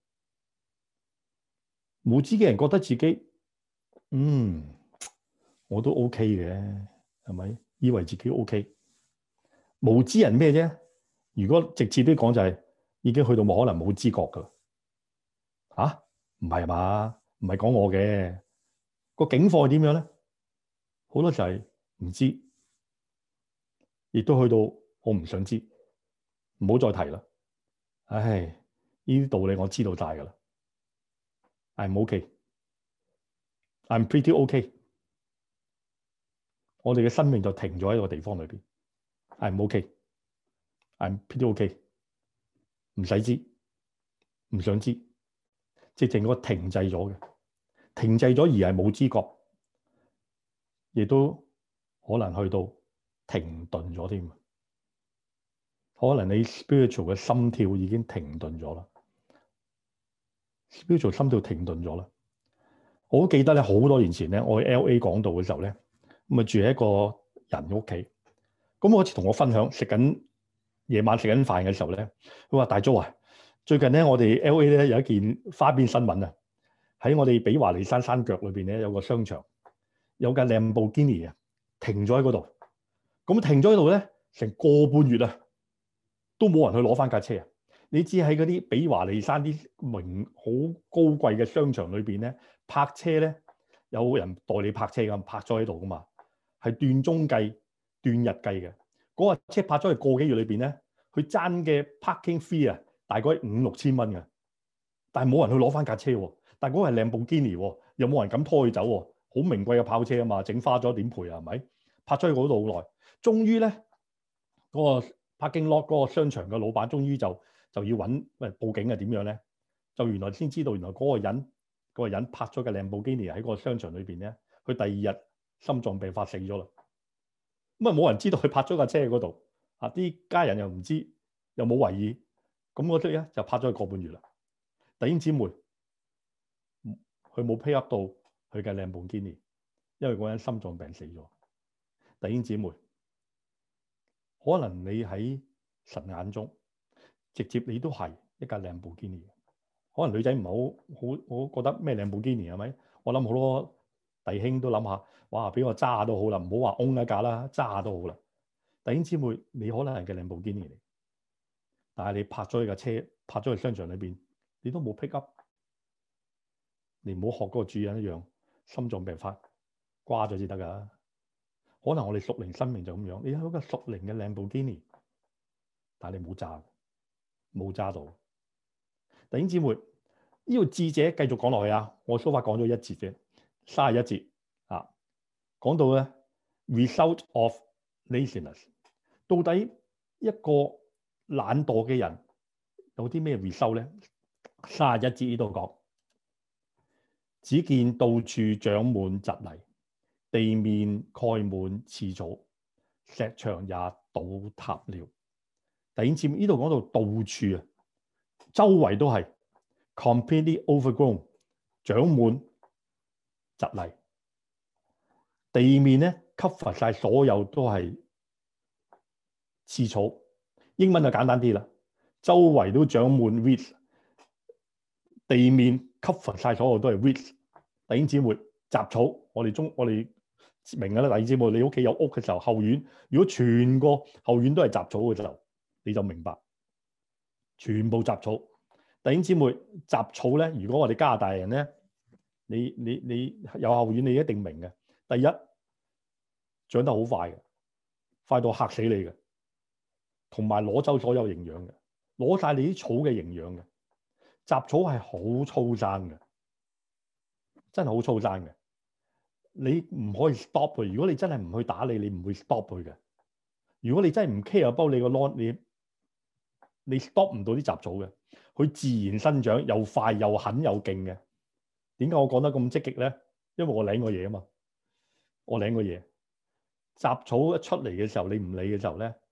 無知嘅人覺得自己，嗯，我都 OK 嘅，係咪？以為自己 OK。 無知人咩啫？如果直接啲講就係、是、已經去到冇可能冇知覺噶啦。嚇，唔係嘛？唔係講我嘅個境況係點樣咧？好多就係唔知，亦都去到我唔想知，唔好再提啦。唉，呢啲道理我知道晒噶啦。I'm okay，I'm pretty okay。我哋嘅生命就停咗喺個地方裏邊。I'm okay，I'm pretty okay。唔使知，唔想知，直情個停滯咗嘅，停滯咗而係冇知覺，亦都可能去到停頓咗添。可能你 spiritual 嘅心跳已經停頓咗啦 ，spiritual 心跳停頓咗啦。我好記得咧，好多年前咧，我去 L A 講道嘅時候咧，咁啊住喺一個人屋企。咁我好似同我分享食緊夜晚食緊飯嘅時候咧，佢話大 Joe啊，最近咧我哋 L A 咧有一件花邊新聞啊，喺我哋比華利山山腳裏邊咧有個商場，有架蘭博基尼啊停咗喺嗰度。咁停咗喺度咧，成個半月啊，都冇人去攞翻架車啊！你知喺嗰啲比華利山啲名好高貴嘅商場裏邊咧，泊車咧有人代你泊車咁，泊咗喺度噶嘛，係斷鐘計、斷日計嘅。嗰架車泊咗喺個幾月裏邊咧，佢爭嘅 parking fee 啊，大概五六千蚊嘅，但係冇人去攞翻架車喎。但係嗰個係蘭博基尼喎，又冇人敢拖佢走喎，好名貴嘅跑車啊嘛，整花咗點賠啊？係咪？泊咗喺嗰度好耐，終於咧嗰個 parking lot 嗰個商場嘅老闆，終於就就要揾喂報警係點樣咧？就原來先知道，原來嗰個人嗰個人泊咗嘅蘭博基尼喺個商場裏邊咧，佢第二日心臟病發死咗啦。咁啊冇人知道佢泊咗架車喺嗰度，啊啲家人又唔知，又冇懷疑，咁嗰堆咧就泊咗佢個半月啦。弟兄姊妹，佢冇 pay up 到佢嘅蘭博基尼，因為嗰人心臟病死咗。弟兄姊妹，可能你喺神眼中，直接你都係一架蘭博基尼。可能女仔唔係好好好覺得咩蘭博基尼係咪？我諗好多弟兄都諗下，哇！俾我揸下都好啦，唔好話 own 一架啦，揸下都好啦。弟兄姊妹，你可能係嘅蘭博基尼嚟，但係你泊咗喺架車，泊咗喺商場裏邊，你都冇 pick up。你唔好學嗰個主人一樣，心臟病發瓜咗先得㗎。可能我哋屬靈生命就咁樣，你有一個屬靈嘅蘭博基尼，但係你冇揸，冇揸到。弟兄姊妹，呢個智者繼續講落去啊！我所法講咗一節啫，三十一節啊，講到咧 result of laziness， 到底一個懶惰嘅人有啲咩 result 咧？三十一節呢度講，只見到處長滿蒺藜，地面蓋滿刺草，石牆也倒塌了。弟兄姊妹，呢度講到到處啊，周圍都係 completely overgrown， 長滿蒺藜，地面咧 cover 晒所有都係刺草。英文就簡單啲啦，周圍都長滿 weeds， 地面 cover 晒所有都係 weeds。弟兄姊妹，雜草，我哋中我哋明㗎啦。弟兄姊妹，你屋企有屋嘅時候，後院如果全個後院都係雜草嘅時候，你就明白，全部雜草。弟兄姊妹，雜草咧，如果我哋加拿大人咧，你你你有後院，你一定明嘅。第一，長得好快嘅，快到嚇死你嘅，同埋攞走所有營養嘅，攞晒你啲草嘅營養嘅。雜草係好粗生嘅，真係好粗生嘅。你唔可以 stop 佢。如果你真係唔去打理，你唔會 stop 佢嘅。如果你真係唔 care 包你個 lawn，你你 stop 唔到啲雜草嘅。佢自然生長，又快又狠又勁嘅。點解我講得咁積極咧？因為我領過嘢啊嘛，我領過嘢。雜草一出嚟嘅時候，你唔理嘅時候咧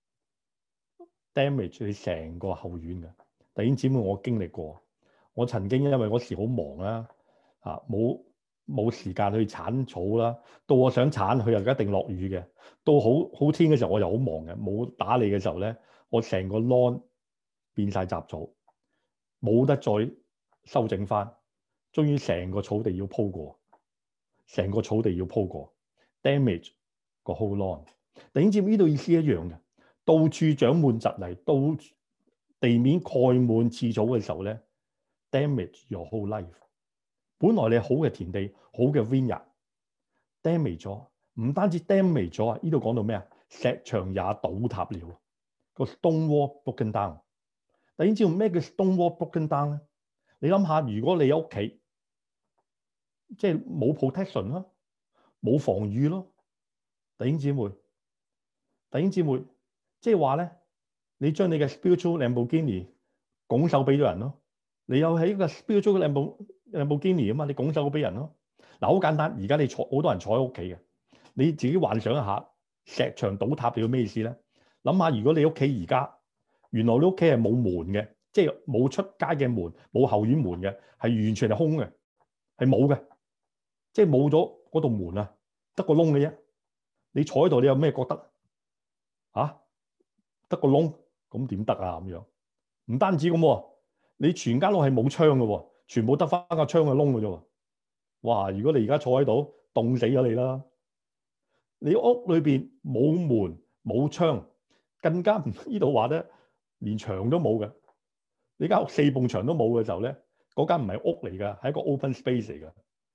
，damage 你成個後院嘅。弟兄姊妹，我經歷過。我曾經因為嗰時好忙啦，嚇冇冇時間去剷草啦。到我想剷，佢又一定落雨嘅。到好好天嘅時候，我又好忙嘅，冇打理嘅時候咧，我成個 lawn 變晒雜草。冇得再修整翻，終於成個草地要鋪過，成個草地要鋪過 ，damage 個 whole lawn。弟兄姊妹，呢度意思一樣嘅， 到處長滿蒺藜，到地面蓋滿刺草嘅時候咧 ，damage your whole life。本來你好嘅田地，好嘅 vineyard，damage 咗，唔單止 damage 咗啊！呢度講到咩啊？石牆也倒塌了，個 stone wall broken down。弟兄知道咩叫 stone wall broken down 咧？你諗下，如果你喺屋企，即係冇 protection 咯，冇防禦咯，弟兄姊妹，弟兄姊妹，即係話咧，你將你嘅 spiritual Lamborghini 拱手俾咗人咯，你有喺個 spiritual Lamborghini 啊嘛，你拱手俾人咯。嗱，好簡單，而家你坐好多人坐喺屋企嘅，你自己幻想一下，石牆倒塌你要咩意思咧？諗下，如果你屋企而家原來你屋企係冇門嘅，即係冇出街嘅門，冇後院門嘅，係完全係空嘅，係冇嘅，即係冇咗嗰道門啊，得個窿嘅啫。你坐喺度，你有咩覺得啊？得個窿，咁點得啊？咁樣唔單止咁喎，你全間屋係冇窗嘅喎，全部得翻個窗嘅窿嘅啫喎。哇！如果你而家坐喺度，凍死咗你啦！你屋裏邊冇門冇窗，更加唔呢度話咧，連牆都冇嘅。你間屋四埲牆都冇嘅時候咧，嗰間唔係屋嚟㗎，係一個 open space 嚟㗎，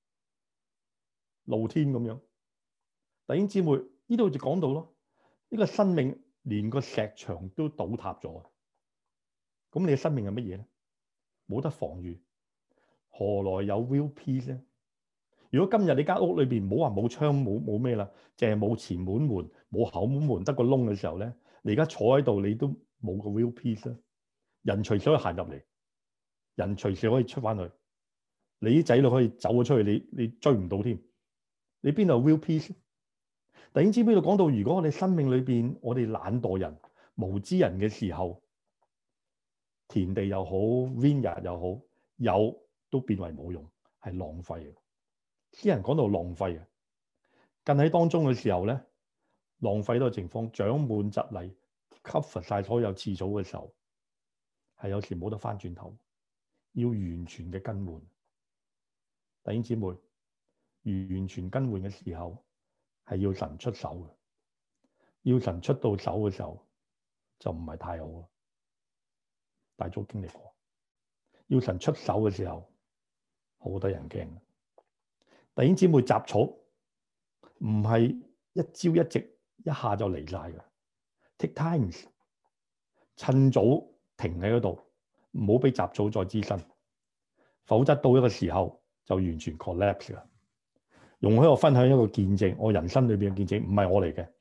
露天咁樣。弟兄姊妹，呢度就講到咯，呢個生命連個石牆都倒塌咗，咁你嘅生命係乜嘢咧？冇得防禦，何來有 real peace 咧？如果今日你間屋裏邊唔好話冇窗冇冇咩啦，淨係冇前門門冇後門門得個窿嘅時候咧，你而家坐喺度你都冇個 real peace 啦。人隨時可以行入嚟，人隨時可以出翻去，你啲仔女可以走咗出去，你你追唔到添。你邊度有 real peace？弟兄姊妹，呢度講到，如果我哋生命裏邊我哋懶惰人、無知人嘅時候，田地又好 vineyard 又好，有都變為冇用，係浪費嘅。啲人講到浪費嘅，近喺當中嘅時候咧，浪費到嘅情況，長滿蒺藜 cover 晒所有刺草嘅時候，係有時冇得翻轉頭，要完全嘅更換。弟兄姊妹，完全更換嘅時候係要神出手嘅，要神出到手嘅時候就唔係太好啦。大早經歷過，要神出手嘅時候好多人驚。弟兄姊妹，雜草唔係一朝一夕一下就嚟晒嘅 ，take times， 趁早停喺嗰度，唔好俾雜草再滋生，否則到一個時候就完全 collapse 啦。容許我分享一個見證，我人生裏邊嘅見證，唔係我嚟嘅，誒、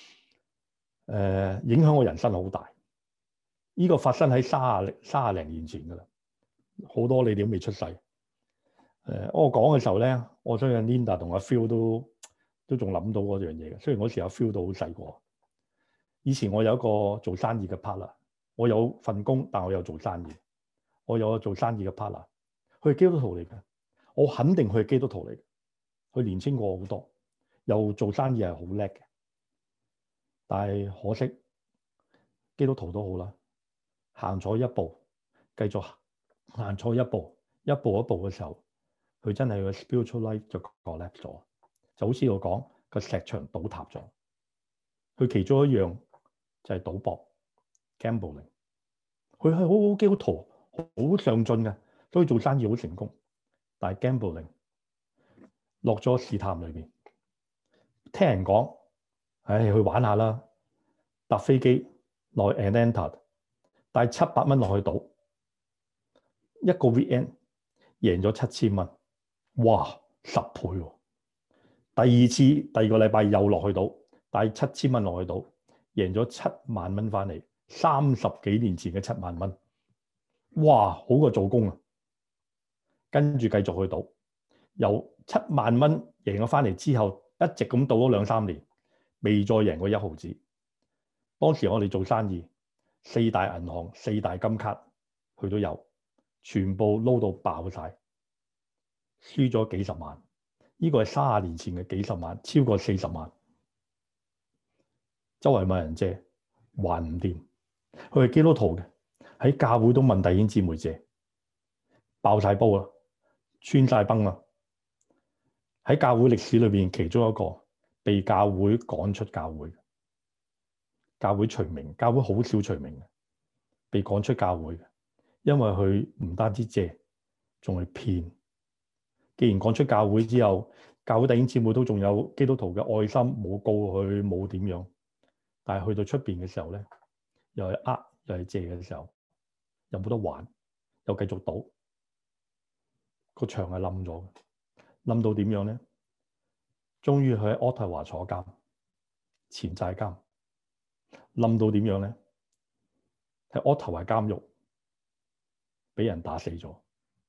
呃，影響我人生好大。呢、這個發生喺三十三十零年前噶啦，好多你哋都未出世。誒、呃，我講嘅時候咧，我相信 Linda 同阿 Phil 都都仲諗到嗰樣嘢嘅。雖然嗰時阿 Phil 都好細個。以前我有一個做生意嘅 partner，我有份工，但我有做生意。我有個做生意嘅 partner，佢係基督徒嚟嘅，我肯定佢係基督徒嚟嘅。佢年青過我好多，又做生意係好叻嘅。但係可惜，基督徒都好啦，行錯一步，繼續行錯一步，一步一步嘅時候。佢真係個 spiritual life 就 collapse 咗，就好似我講個石牆倒塌咗。佢其中一樣就係賭博 gambling。佢係好好基督徒，好上進嘅，所以做生意好成功。但係 gambling 落咗試探裏邊，聽人講，唉，去玩下啦，搭飛機落去 Atlanta， 帶七百蚊落去賭，一個 weekend 贏咗七千蚊。哇，十倍喎！第二次第二個禮拜又落去賭，帶七千蚊落去賭，贏咗七萬蚊翻嚟，三十幾年前嘅七萬蚊，哇，好過做工啊！跟住繼續去賭，由七萬蚊贏咗翻嚟之後，一直咁賭咗兩三年，未再贏過一毫子。當時我哋做生意，四大銀行、四大金卡佢都有，全部撈到爆晒。輸咗幾十萬，呢、這個係三十年前嘅幾十萬，超過四十萬。周圍問人借，還唔掂。佢係基督徒嘅，喺教會都問弟兄姊妹借，爆晒煲啦，穿晒崩啦。喺教會歷史裏邊，其中一個被教會趕出教會。 教會除名，教會好少除名嘅，被趕出教會嘅，因為佢唔單止借，仲係騙。既然趕出教會之後，教會弟兄姊妹都仲有基督徒嘅愛心，冇告佢，冇點樣。但係去到出邊嘅時候咧，又係呃，又係借嘅時候，又冇得還，又繼續賭，個牆係冧咗嘅，冧到點樣咧？終於佢喺渥太華坐監，前債監，冧到點樣咧？喺渥太華監獄俾人打死咗。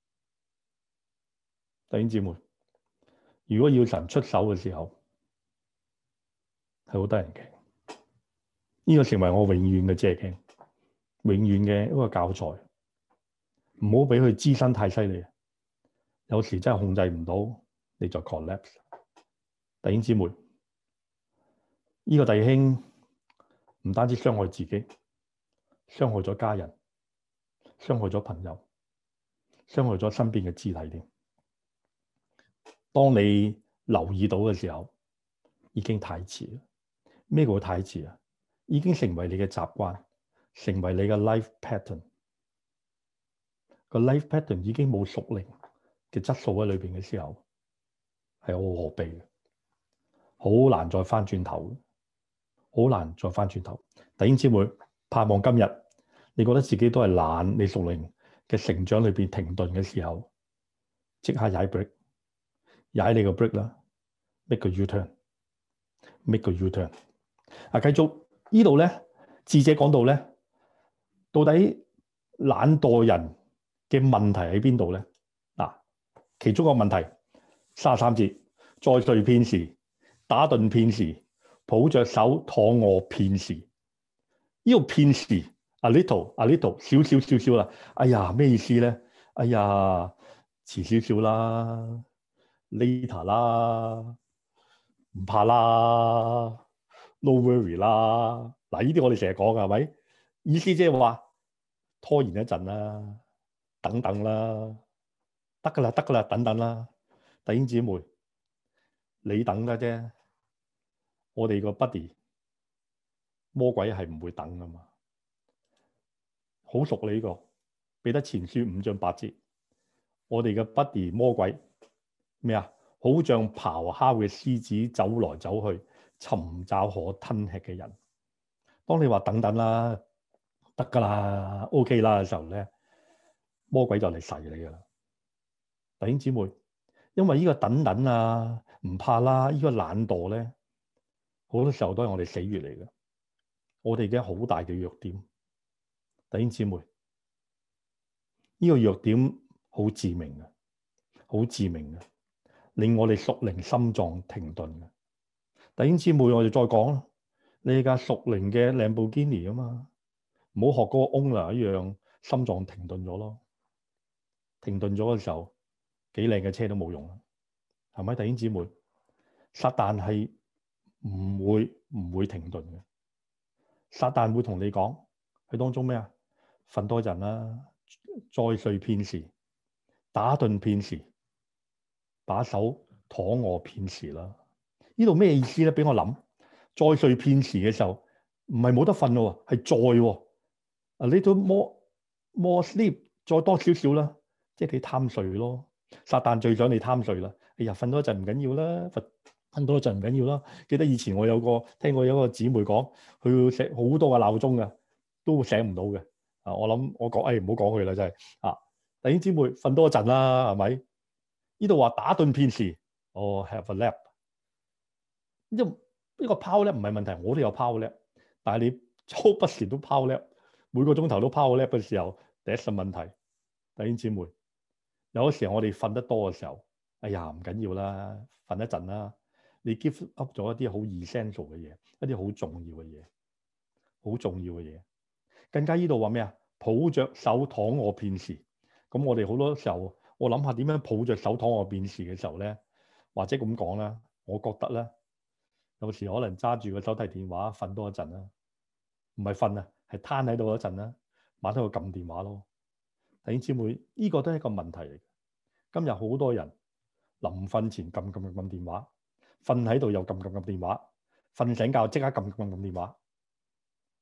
弟兄姊妹，如果要神出手嘅時候，係好得人驚。呢個成為我永遠嘅借鏡，永遠嘅一個教材。唔好俾佢滋生太犀利，有時真係控制唔到，你就 collapse。弟兄姊妹，呢個弟兄唔單止傷害自己，傷害咗家人，傷害咗朋友，傷害咗身邊嘅肢體添。當你留意到嘅時候，已經太遲啦。咩叫太遲啊？已經成為你嘅習慣，成為你嘅 life pattern。個 life pattern 已經冇屬靈嘅質素喺裏邊嘅時候，係好可悲嘅，好難再翻轉頭，好難再翻轉頭。弟兄姊妹，盼望今日你覺得自己都係懶，你屬靈嘅成長裏邊停頓嘅時候，即刻踩 break， 踩你個 break 啦 ，make 個 U-turn，make 個 U-turn。啊，繼續呢度咧，智者講到咧，到底懶惰人嘅問題喺邊度咧？嗱，其中個問題，三十三節，再睡片時，打盹片時，抱着手躺臥片時。呢個片時 a little a little 少少少少啦。哎呀，咩意思咧？哎呀，遲少少啦 ，later 啦，唔怕啦。No worry 啦，嗱，呢啲我哋成日講㗎，係咪？意思即係話拖延一陣啦，等等啦，得㗎啦，得㗎啦，等等啦，弟兄姊妹，你等㗎啫，我哋個 buddy 魔鬼係唔會等㗎嘛，好熟你呢個，彼得前書五章八節，我哋嘅 buddy 魔鬼咩啊？好像咆哮嘅獅子走來走去，尋找可吞吃嘅人。當你話等等啦，得㗎啦 ，OK 啦嘅時候咧，魔鬼就嚟噬你㗎啦。弟兄姊妹，因為呢個等等啊，唔怕啦，呢個懶惰咧，好多時候都係我哋死穴嚟嘅，我哋嘅好大嘅弱點。弟兄姊妹，呢個弱點好致命嘅，好致命嘅，令我哋屬靈心臟停頓嘅。弟兄姊妹，我哋再講啦，你架屬靈嘅蘭博基尼啊嘛，唔好學嗰個 owner 一樣，心臟停頓咗咯。停頓咗嘅時候，幾靚嘅車都冇用啦，係咪？弟兄姊妹，撒旦係唔會唔會停頓嘅。撒旦會同你講喺當中咩啊？瞓多陣啦，再睡片時，打盹片時，把手躺臥片時啦。呢度咩意思咧？俾我諗，再睡片時嘅時候，唔係冇得瞓咯，係再喎。A little more more sleep，再多少少啦，即係你貪睡咯。撒旦最想你貪睡啦。哎呀，瞓多一陣唔緊要啦，瞓瞓多一陣唔緊要啦。記得以前我有個聽過有個姊妹講，佢要食好多個鬧鐘嘅，都醒唔到嘅。啊，我諗我講，誒唔好講佢啦，真係啊。弟兄姊妹，瞓多一陣啦，係咪？呢度話打盹片時，哦 have a nap。呢個呢個 power nap 唔係問題，我都有 power nap，但係你周不時都 power nap，每個鐘頭都 power nap 嘅時候，第一個問題。弟兄姊妹，有時候我哋瞓得多嘅時候，哎呀唔緊要啦，瞓一陣啦。你 give up 咗一啲好 essential 嘅嘢，一啲好重要嘅嘢，好重要嘅嘢。更加呢度話咩啊？抱着手躺臥片時，咁我哋好多時候，我諗下點樣抱着手躺臥片時嘅時候咧，或者咁講啦，我覺得咧，有時可能揸住個手提電話瞓多一陣啦，唔係瞓啊，係攤喺度一陣啦，晚黑去撳電話咯。弟兄姊妹，呢個都係一個問題嚟。今日好多人臨瞓前撳撳撳電話，瞓喺度又撳撳撳電話，瞓醒覺即刻撳撳撳電話。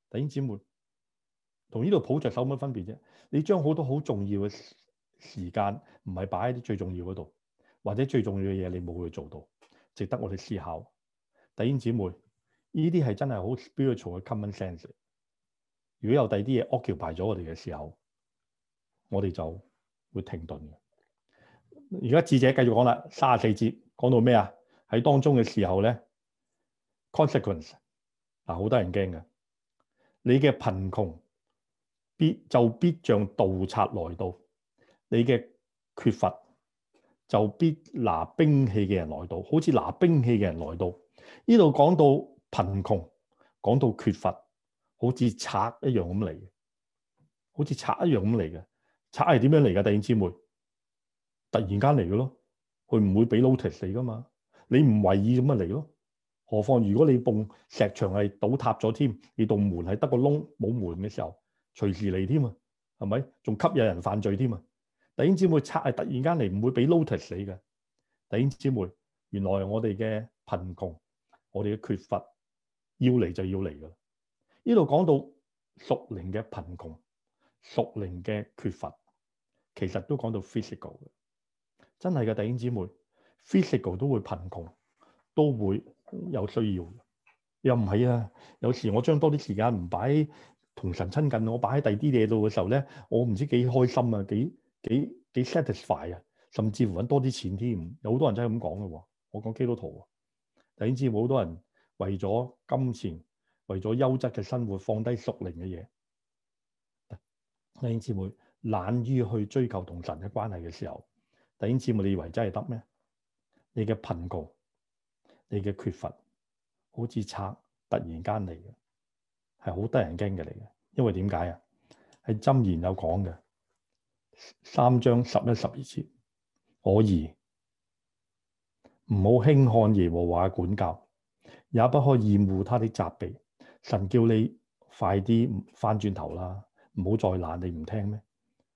弟兄姊妹，同呢度抱着手乜分別啫？你將好多好重要嘅時間唔係擺喺啲最重要嗰度，或者最重要嘅嘢你冇去做到，值得我哋思考。弟兄姊妹，呢啲係真係好 spiritual 嘅 common sense。如果有第二啲嘢 occupy 咗我哋嘅時候，我哋就會停頓嘅。而家智者繼續講啦，三十四節講到咩啊？喺當中嘅時候咧 ，consequence 嗱，好多人驚嘅。你嘅貧窮必就必像盜賊來到，你嘅缺乏就必拿兵器嘅人來到，好似拿兵器嘅人來到。呢度講到貧窮，講到缺乏，好似賊一樣咁嚟嘅，好似賊一樣咁嚟嘅。賊係點樣嚟㗎？弟兄姊妹，突然間嚟嘅咯，佢唔會俾 notice 你㗎嘛。你唔為意咁咪嚟咯。何況如果你棟石牆係倒塌咗添，你棟門係得個窿冇門嘅時候，隨時嚟添啊，係咪？仲吸引人犯罪添啊！弟兄姊妹，賊係突然間嚟，唔會俾 notice 你嘅。弟兄姊妹，原來我哋嘅貧窮，我哋嘅缺乏，要嚟就要嚟㗎啦。呢度講到屬靈嘅貧窮、屬靈嘅缺乏，其實都講到 physical 嘅，真係嘅。弟兄姊妹 ，physical 都會貧窮，都會有需要。又唔係啊？有時我將多啲時間唔擺同神親近，我擺喺第二啲嘢度嘅時候咧，我唔知幾開心啊，幾幾幾 satisfy 啊，甚至乎揾多啲錢添。有好多人真係咁講嘅喎。我講基督徒啊，弟兄姊妹，好多人為咗金錢，為咗優質嘅生活，放低屬靈嘅嘢。弟兄姊妹，懶於去追求同神嘅關係嘅時候，弟兄姊妹，你以為真係得咩？你嘅貧窮，你嘅缺乏，好似賊突然間嚟嘅，係好得人驚嘅嚟嘅。因為點解啊？喺箴言有講嘅，三章十一十二節，我兒唔好輕看耶和華嘅管教，也不可厭惡他的責備。神叫你快啲翻轉頭啦，唔好再懶，你唔聽咩？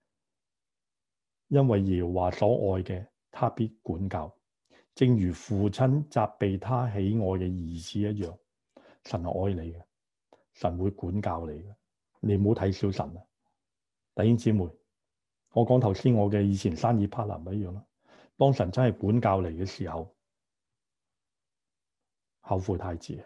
因為耶和華所愛嘅，他必管教，正如父親責備他喜愛嘅兒子一樣。神係愛你嘅，神會管教你嘅，你唔好睇小神啊！弟兄姊妹，我講頭先我嘅以前生意 partner 咪一樣咯。當神真係管教你嘅時候，後悔太遲。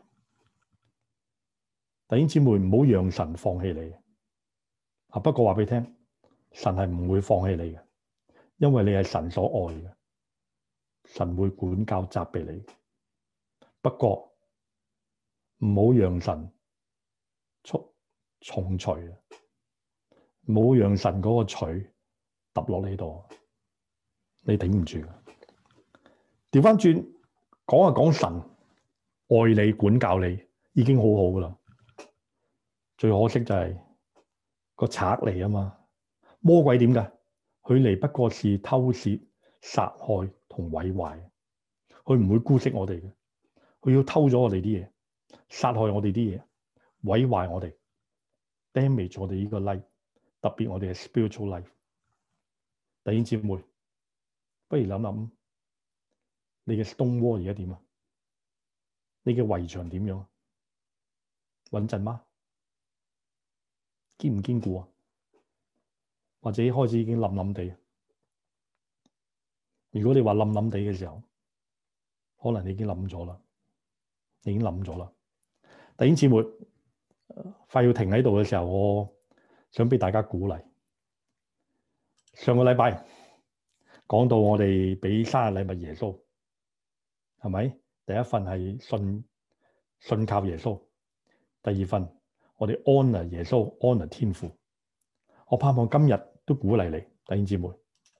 弟兄姊妹，唔好讓神放棄你啊！不過話俾你聽，神係唔會放棄你嘅，因為你係神所愛嘅，神會管教責備你。不過唔好讓神重重錘啊！唔好讓神嗰個錘揼落你度，你頂唔住。調翻轉講啊，講神愛你管教你已經好好噶啦。最可惜就係個賊嚟啊嘛，魔鬼點㗎？佢嚟不過是偷竊、殺害同毀壞，佢唔會姑息我哋嘅，佢要偷咗我哋啲嘢，殺害我哋啲嘢，毀壞我哋 ，damage 我哋呢個 life， 特別我哋嘅 spiritual life。弟兄姊妹，不如諗諗你嘅 stone wall 而家點啊？你嘅圍牆點樣？穩陣嗎？堅唔堅固啊？或者開始已經冧冧地？如果你話冧冧地嘅時候，可能你已經冧咗啦，你已經冧咗啦。弟兄姊妹，快要停喺度嘅時候，我想俾大家鼓勵。上個禮拜講到我哋俾生日禮物耶穌，係咪？第一份係信信靠耶穌，第二份我哋 honor 耶穌 honor 天父。我盼望今日都鼓勵你，弟兄姊妹，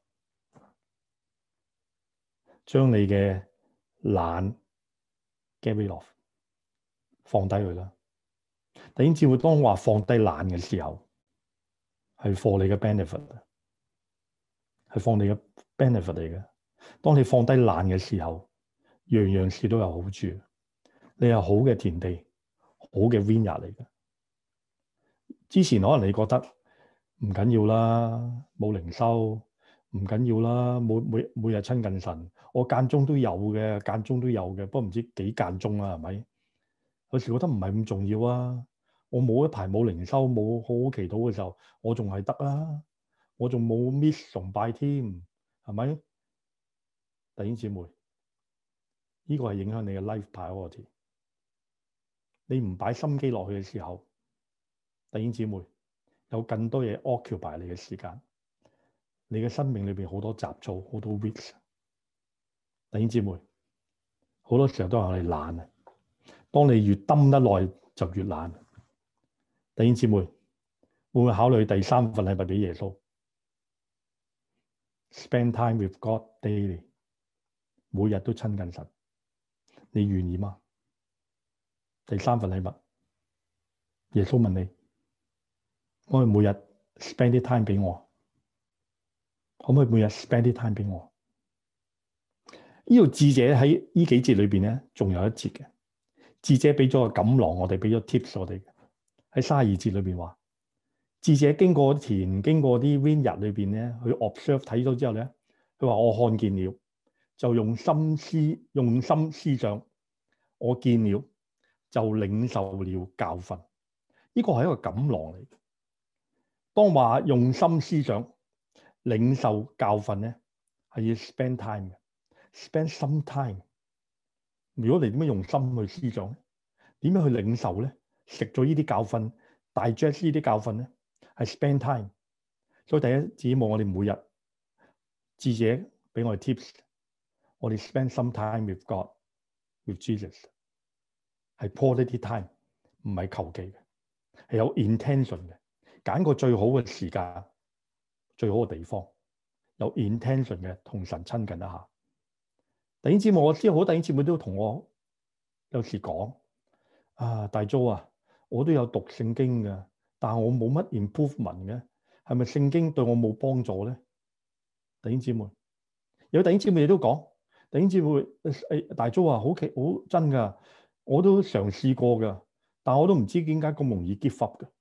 將你嘅懶 get rid of，放低佢啦。弟兄姊妹，當話放低懶嘅時候，係 for 你嘅 benefit，係 for 你嘅 benefit 嚟嘅。當你放低懶嘅時候，樣樣事都有好處。你係好嘅田地，好嘅 vineyard 嚟嘅。之前可能你覺得唔緊要啦，冇靈修唔緊要啦，每每每日親近神，我間中都有嘅，間中都有嘅，不過唔知幾間中啦，係咪？有時覺得唔係咁重要啊， 我冇一排冇靈修，冇好好祈禱嘅時候，我仲係得啊，我仲冇 miss 崇拜添，係咪？弟兄姊妹，呢個係影響你嘅 life priority。你唔擺心機落去嘅時候，弟兄姊妹有更多嘢 occupy 你嘅時間，你嘅生命裏邊好多雜草，好多 weeds。弟兄姊妹，好多時候都係我哋懶啊。當你越蹲得耐，就越懶。弟兄姊妹，會唔會考慮第三份禮物俾耶穌 ？Spend time with God daily， 每日都親近神，你願意嗎？第三份禮物，耶穌問你，可唔可以每日 spend 啲 time 俾我？可唔可以每日 spend 啲 time 俾我？呢度智者喺呢幾節裏邊咧，仲有一節嘅。智者俾咗個錦囊，我哋俾咗 tips 我哋喺三十二節裏邊話，智者經過田，經過啲 vineyard 裏邊咧，去 observe 睇咗之後咧，佢話我看見了，就用心思用心思想，我見了就領受了教訓。呢個係一個錦囊嚟。當話用心思想、領受教訓咧，係要 spend time 嘅 ，spend some time。如果你點樣用心去思想咧，點樣去領受咧？食咗呢啲教訓 digest 呢啲教訓咧，係 spend time。所以第一，指望我哋每日智者俾我哋 tips， 我哋 spend some time with God、with Jesus， 係 quality time， 唔係求其嘅，係有 intention 嘅，揀個最好嘅時間、最好嘅地方，有 intention 嘅同神親近一下。弟兄姊妹，我知好多弟兄姊妹都同我有時講啊，大租啊，我都有讀聖經嘅，但係我冇乜 improvement 嘅，係咪聖經對我冇幫助咧？弟兄姊妹，有弟兄姊妹亦都講，弟兄姊妹誒，大租啊，好奇好真噶，我都嘗試過噶，但係我都唔知點解咁容易 give up 嘅，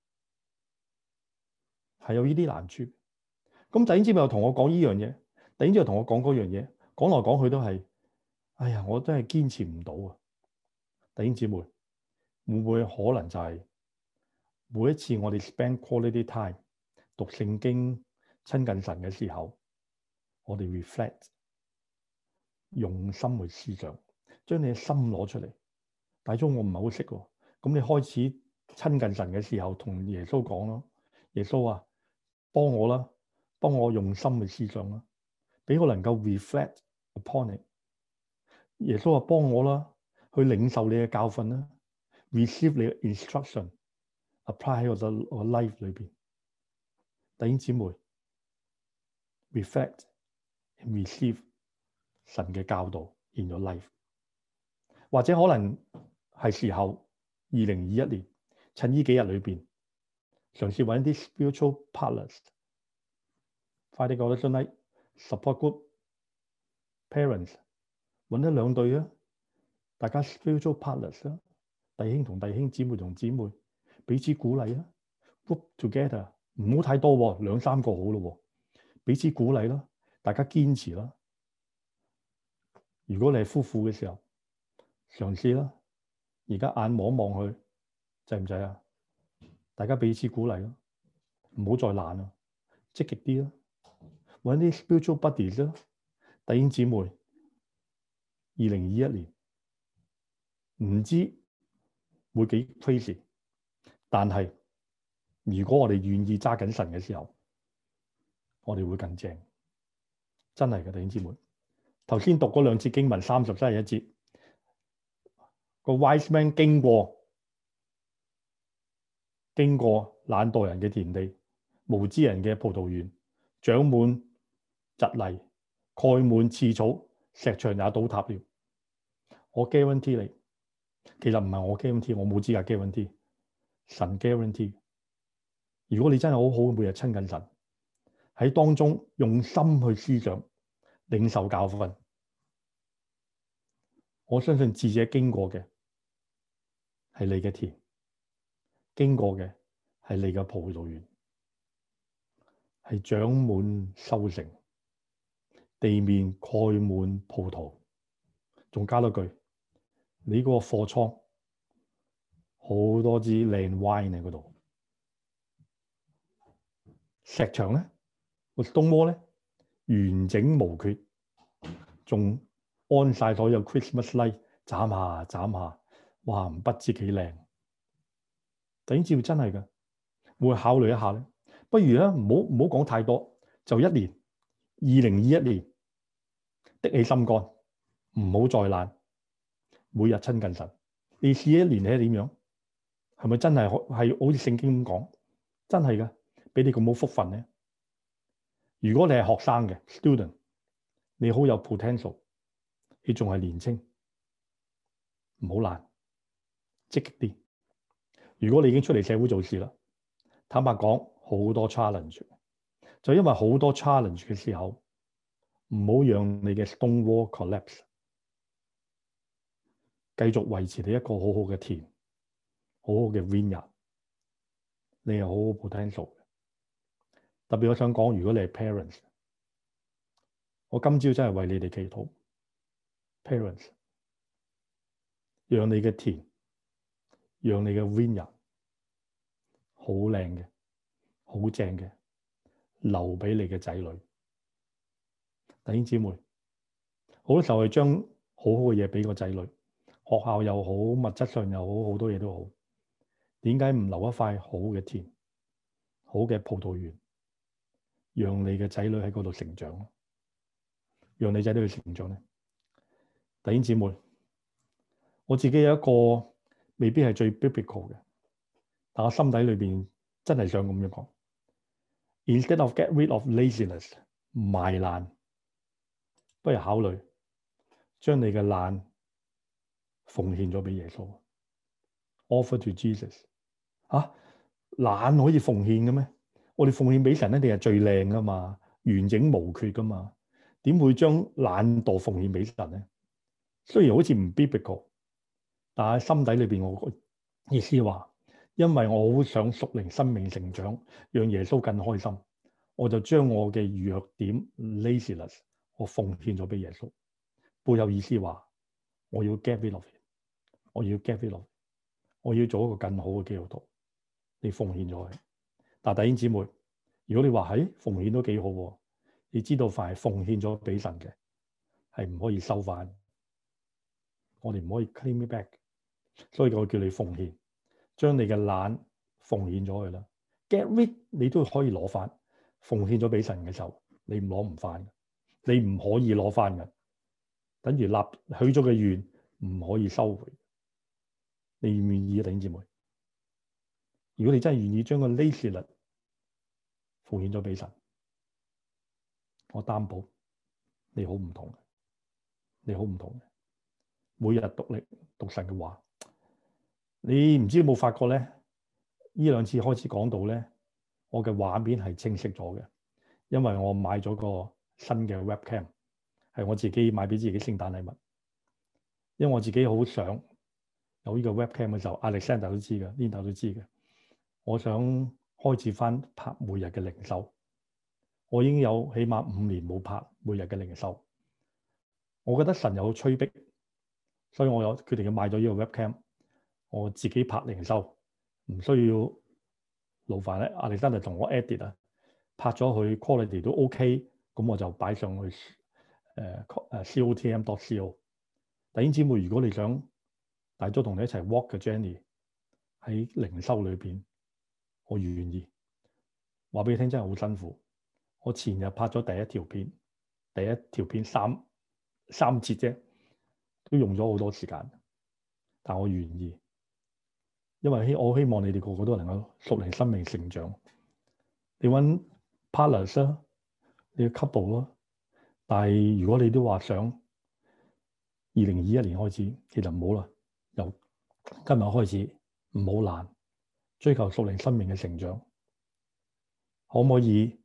係有呢啲難處。咁弟兄姊妹又同我講呢樣嘢，弟兄姊妹又同我講嗰樣嘢，講來講去都係，哎呀，我真係堅持唔到啊！弟兄姊妹，會唔會可能就係每一次我哋 spend quality time 讀聖經、親近神嘅時候，我哋 reflect 用心去思想，將你嘅心攞出嚟。大鐘我唔係好識喎，咁你開始親近神嘅時候，同耶穌講咯，耶穌啊，幫我啦，幫我用心去思想啦，俾我能夠 reflect upon it。耶穌話幫我啦，去領受你嘅教訓啦 ，receive 你嘅 instruction，apply 喺我嘅我 life 裏邊。弟兄姊妹 ，reflect and receive 神嘅教導 in your life。或者可能係時候，二零二一年趁呢幾日裏邊，嘗試揾啲 spiritual partners，Friday Coalition Night、support group、parents，揾一兩對啊，大家 spiritual partners 啊，弟兄同弟兄、姊妹同姊妹彼此鼓勵啊 ，group together， 唔好太多喎，兩三個好咯喎，彼此鼓勵啦，大家堅持啦。如果你係夫婦嘅時候，嘗試啦。而家眼望望去，制唔制啊？大家彼此鼓勵咯，唔好再懶啦，積極啲啦，揾啲 spiritual buddies 啦，弟兄姊妹。二零二一年唔知會幾 crazy，但係如果我哋願意揸緊神嘅時候，我哋會更正，真係嘅，弟兄姊妹。頭先讀嗰兩節經文，三十三十一節，個 wise man 經過。經過懶惰人嘅田地，無知人嘅葡萄園，長滿蒺藜，蓋滿刺草，石牆也倒塌了。我 guarantee 你，其實唔係我 guarantee，我冇資格 guarantee，神 guarantee。如果你真係好好每日親近神，喺當中用心去思想、領受教訓，我相信智者經過嘅係你嘅田。經過嘅係你嘅葡萄園，係長滿收成，地面蓋滿葡萄，仲加多句，你嗰個貨倉好多支靚 wine 喺嗰度。石牆咧，個 stone wall 咧完整無缺，仲安晒所有 Christmas light，斬下斬下，哇！不知幾靚。弟兄姊妹真係㗎，會考慮一下咧。不如咧，唔好唔好講太多，就一年，二零二一年，的起心肝，唔好再懶，每日親近神。你試一年係點樣？係咪真係係好似聖經咁講？真係㗎，俾你咁好福分咧。如果你係學生嘅 student，你好有 potential，你仲係年青，唔好懶，積極啲。如果你已經出嚟社會做事啦，坦白講好多 challenge，就因為好多 challenge 嘅時候，唔好讓你嘅 stone wall collapse，繼續維持你一個好好嘅田，好好嘅 vineyard，你係好好 potential 嘅。特別我想講，如果你係 parents，我今朝真係為你哋祈禱 ，parents，讓你嘅田，讓你嘅 vineyard 好靚嘅，好正嘅，留俾你嘅仔女。弟兄姊妹，好多時候係將好好嘅嘢俾個仔女，學校又好，物質上又好，好多嘢都好。點解唔留一塊好嘅田，好嘅葡萄園，讓你嘅仔女喺嗰度成長，讓你仔女去成長咧？弟兄姊妹，我自己有一個未必係最 biblical 嘅，但我心底裏邊真係想咁樣講。Instead of get rid of laziness， 賣懶，不如考慮將你嘅懶奉獻咗俾耶穌 ，offer to Jesus。啊，懶可以奉獻嘅咩？我哋奉獻俾神一定係最靚噶嘛，完整無缺噶嘛，點會將懶惰奉獻俾神咧？雖然好似唔 biblical，但係心底裏邊我意思話，因為我好想屬靈生命成長，讓耶穌更開心，我就將我嘅弱點 laziness 我奉獻咗俾耶穌。背後意思話，我要 get rid of it， 我要 get rid of it， 我要做一個更好嘅基督徒。你奉獻咗佢，但係弟兄姊妹，如果你話喺奉獻都幾好喎，你知道凡係奉獻咗俾神嘅，係唔可以收翻，我哋唔可以 claim it back， 所以我叫你奉獻，將你嘅懶奉獻咗佢啦。get rid 你都可以攞翻，奉獻咗俾神嘅時候，你唔攞唔翻，你唔可以攞翻嘅，等於立許咗嘅願唔可以收回。你願唔願意啊，弟兄姊妹？如果你真係願意將個 laziness 奉獻咗俾神，我擔保你好唔同嘅，你好唔同嘅。每日讀力讀神嘅話，你唔知有冇發覺咧？呢兩次開始講到咧，我嘅畫面係清晰咗嘅，因為我買咗個新嘅 webcam， 係我自己買俾自己聖誕禮物。因為我自己好想有呢個 webcam 嘅時候，Alexander 都知嘅，Linda 都知嘅。我想開始翻拍每日嘅靈修，我已經有起碼五年冇拍每日嘅靈修。我覺得神有催逼，所以我有決定要買咗呢個 webcam， 我自己拍靈修，唔需要勞煩咧。Alexander同我 edit 啊，拍咗佢 quality 都 OK， 咁我就擺上去誒誒 C O T M dot C O。弟兄姊妹，如果你想大咗同你一齊 walk 嘅 journey 喺靈修裏邊，我願意話俾你聽，真係好辛苦。我前日拍咗第一條片，第一條片三三節啫，都用咗好多時間，但我願意，因為我希望你哋個個都能夠屬靈生命成長。你揾 partners 啦，你要 couple 咯，但係如果你都話想二零二一年開始，其實唔好啦，由今日開始唔好懶，追求屬靈生命嘅成長。可唔可以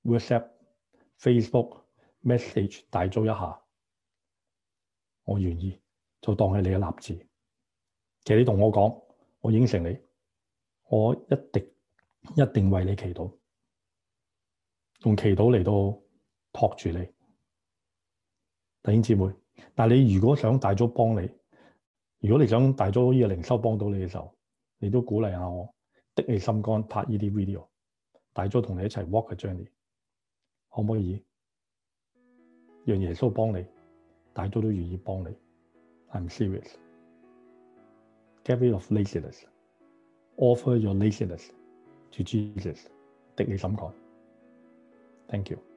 WhatsApp、Facebook message 大租一下？我願意，就當係你嘅立志。其實你同我講，我應承你，我一定一定為你祈禱，用祈禱嚟到托住你，弟兄姊妹。但係你如果想大租幫你，如果你想大租呢個靈修幫到你嘅時候， 你都鼓勵下我，的起心肝拍呢啲 video，大咗同你一齊 walk 個 journey，可唔可以？讓耶穌幫你，大咗都願意幫你。I'm serious. Get rid of laziness. Offer your laziness to Jesus. 的起心肝。Thank you.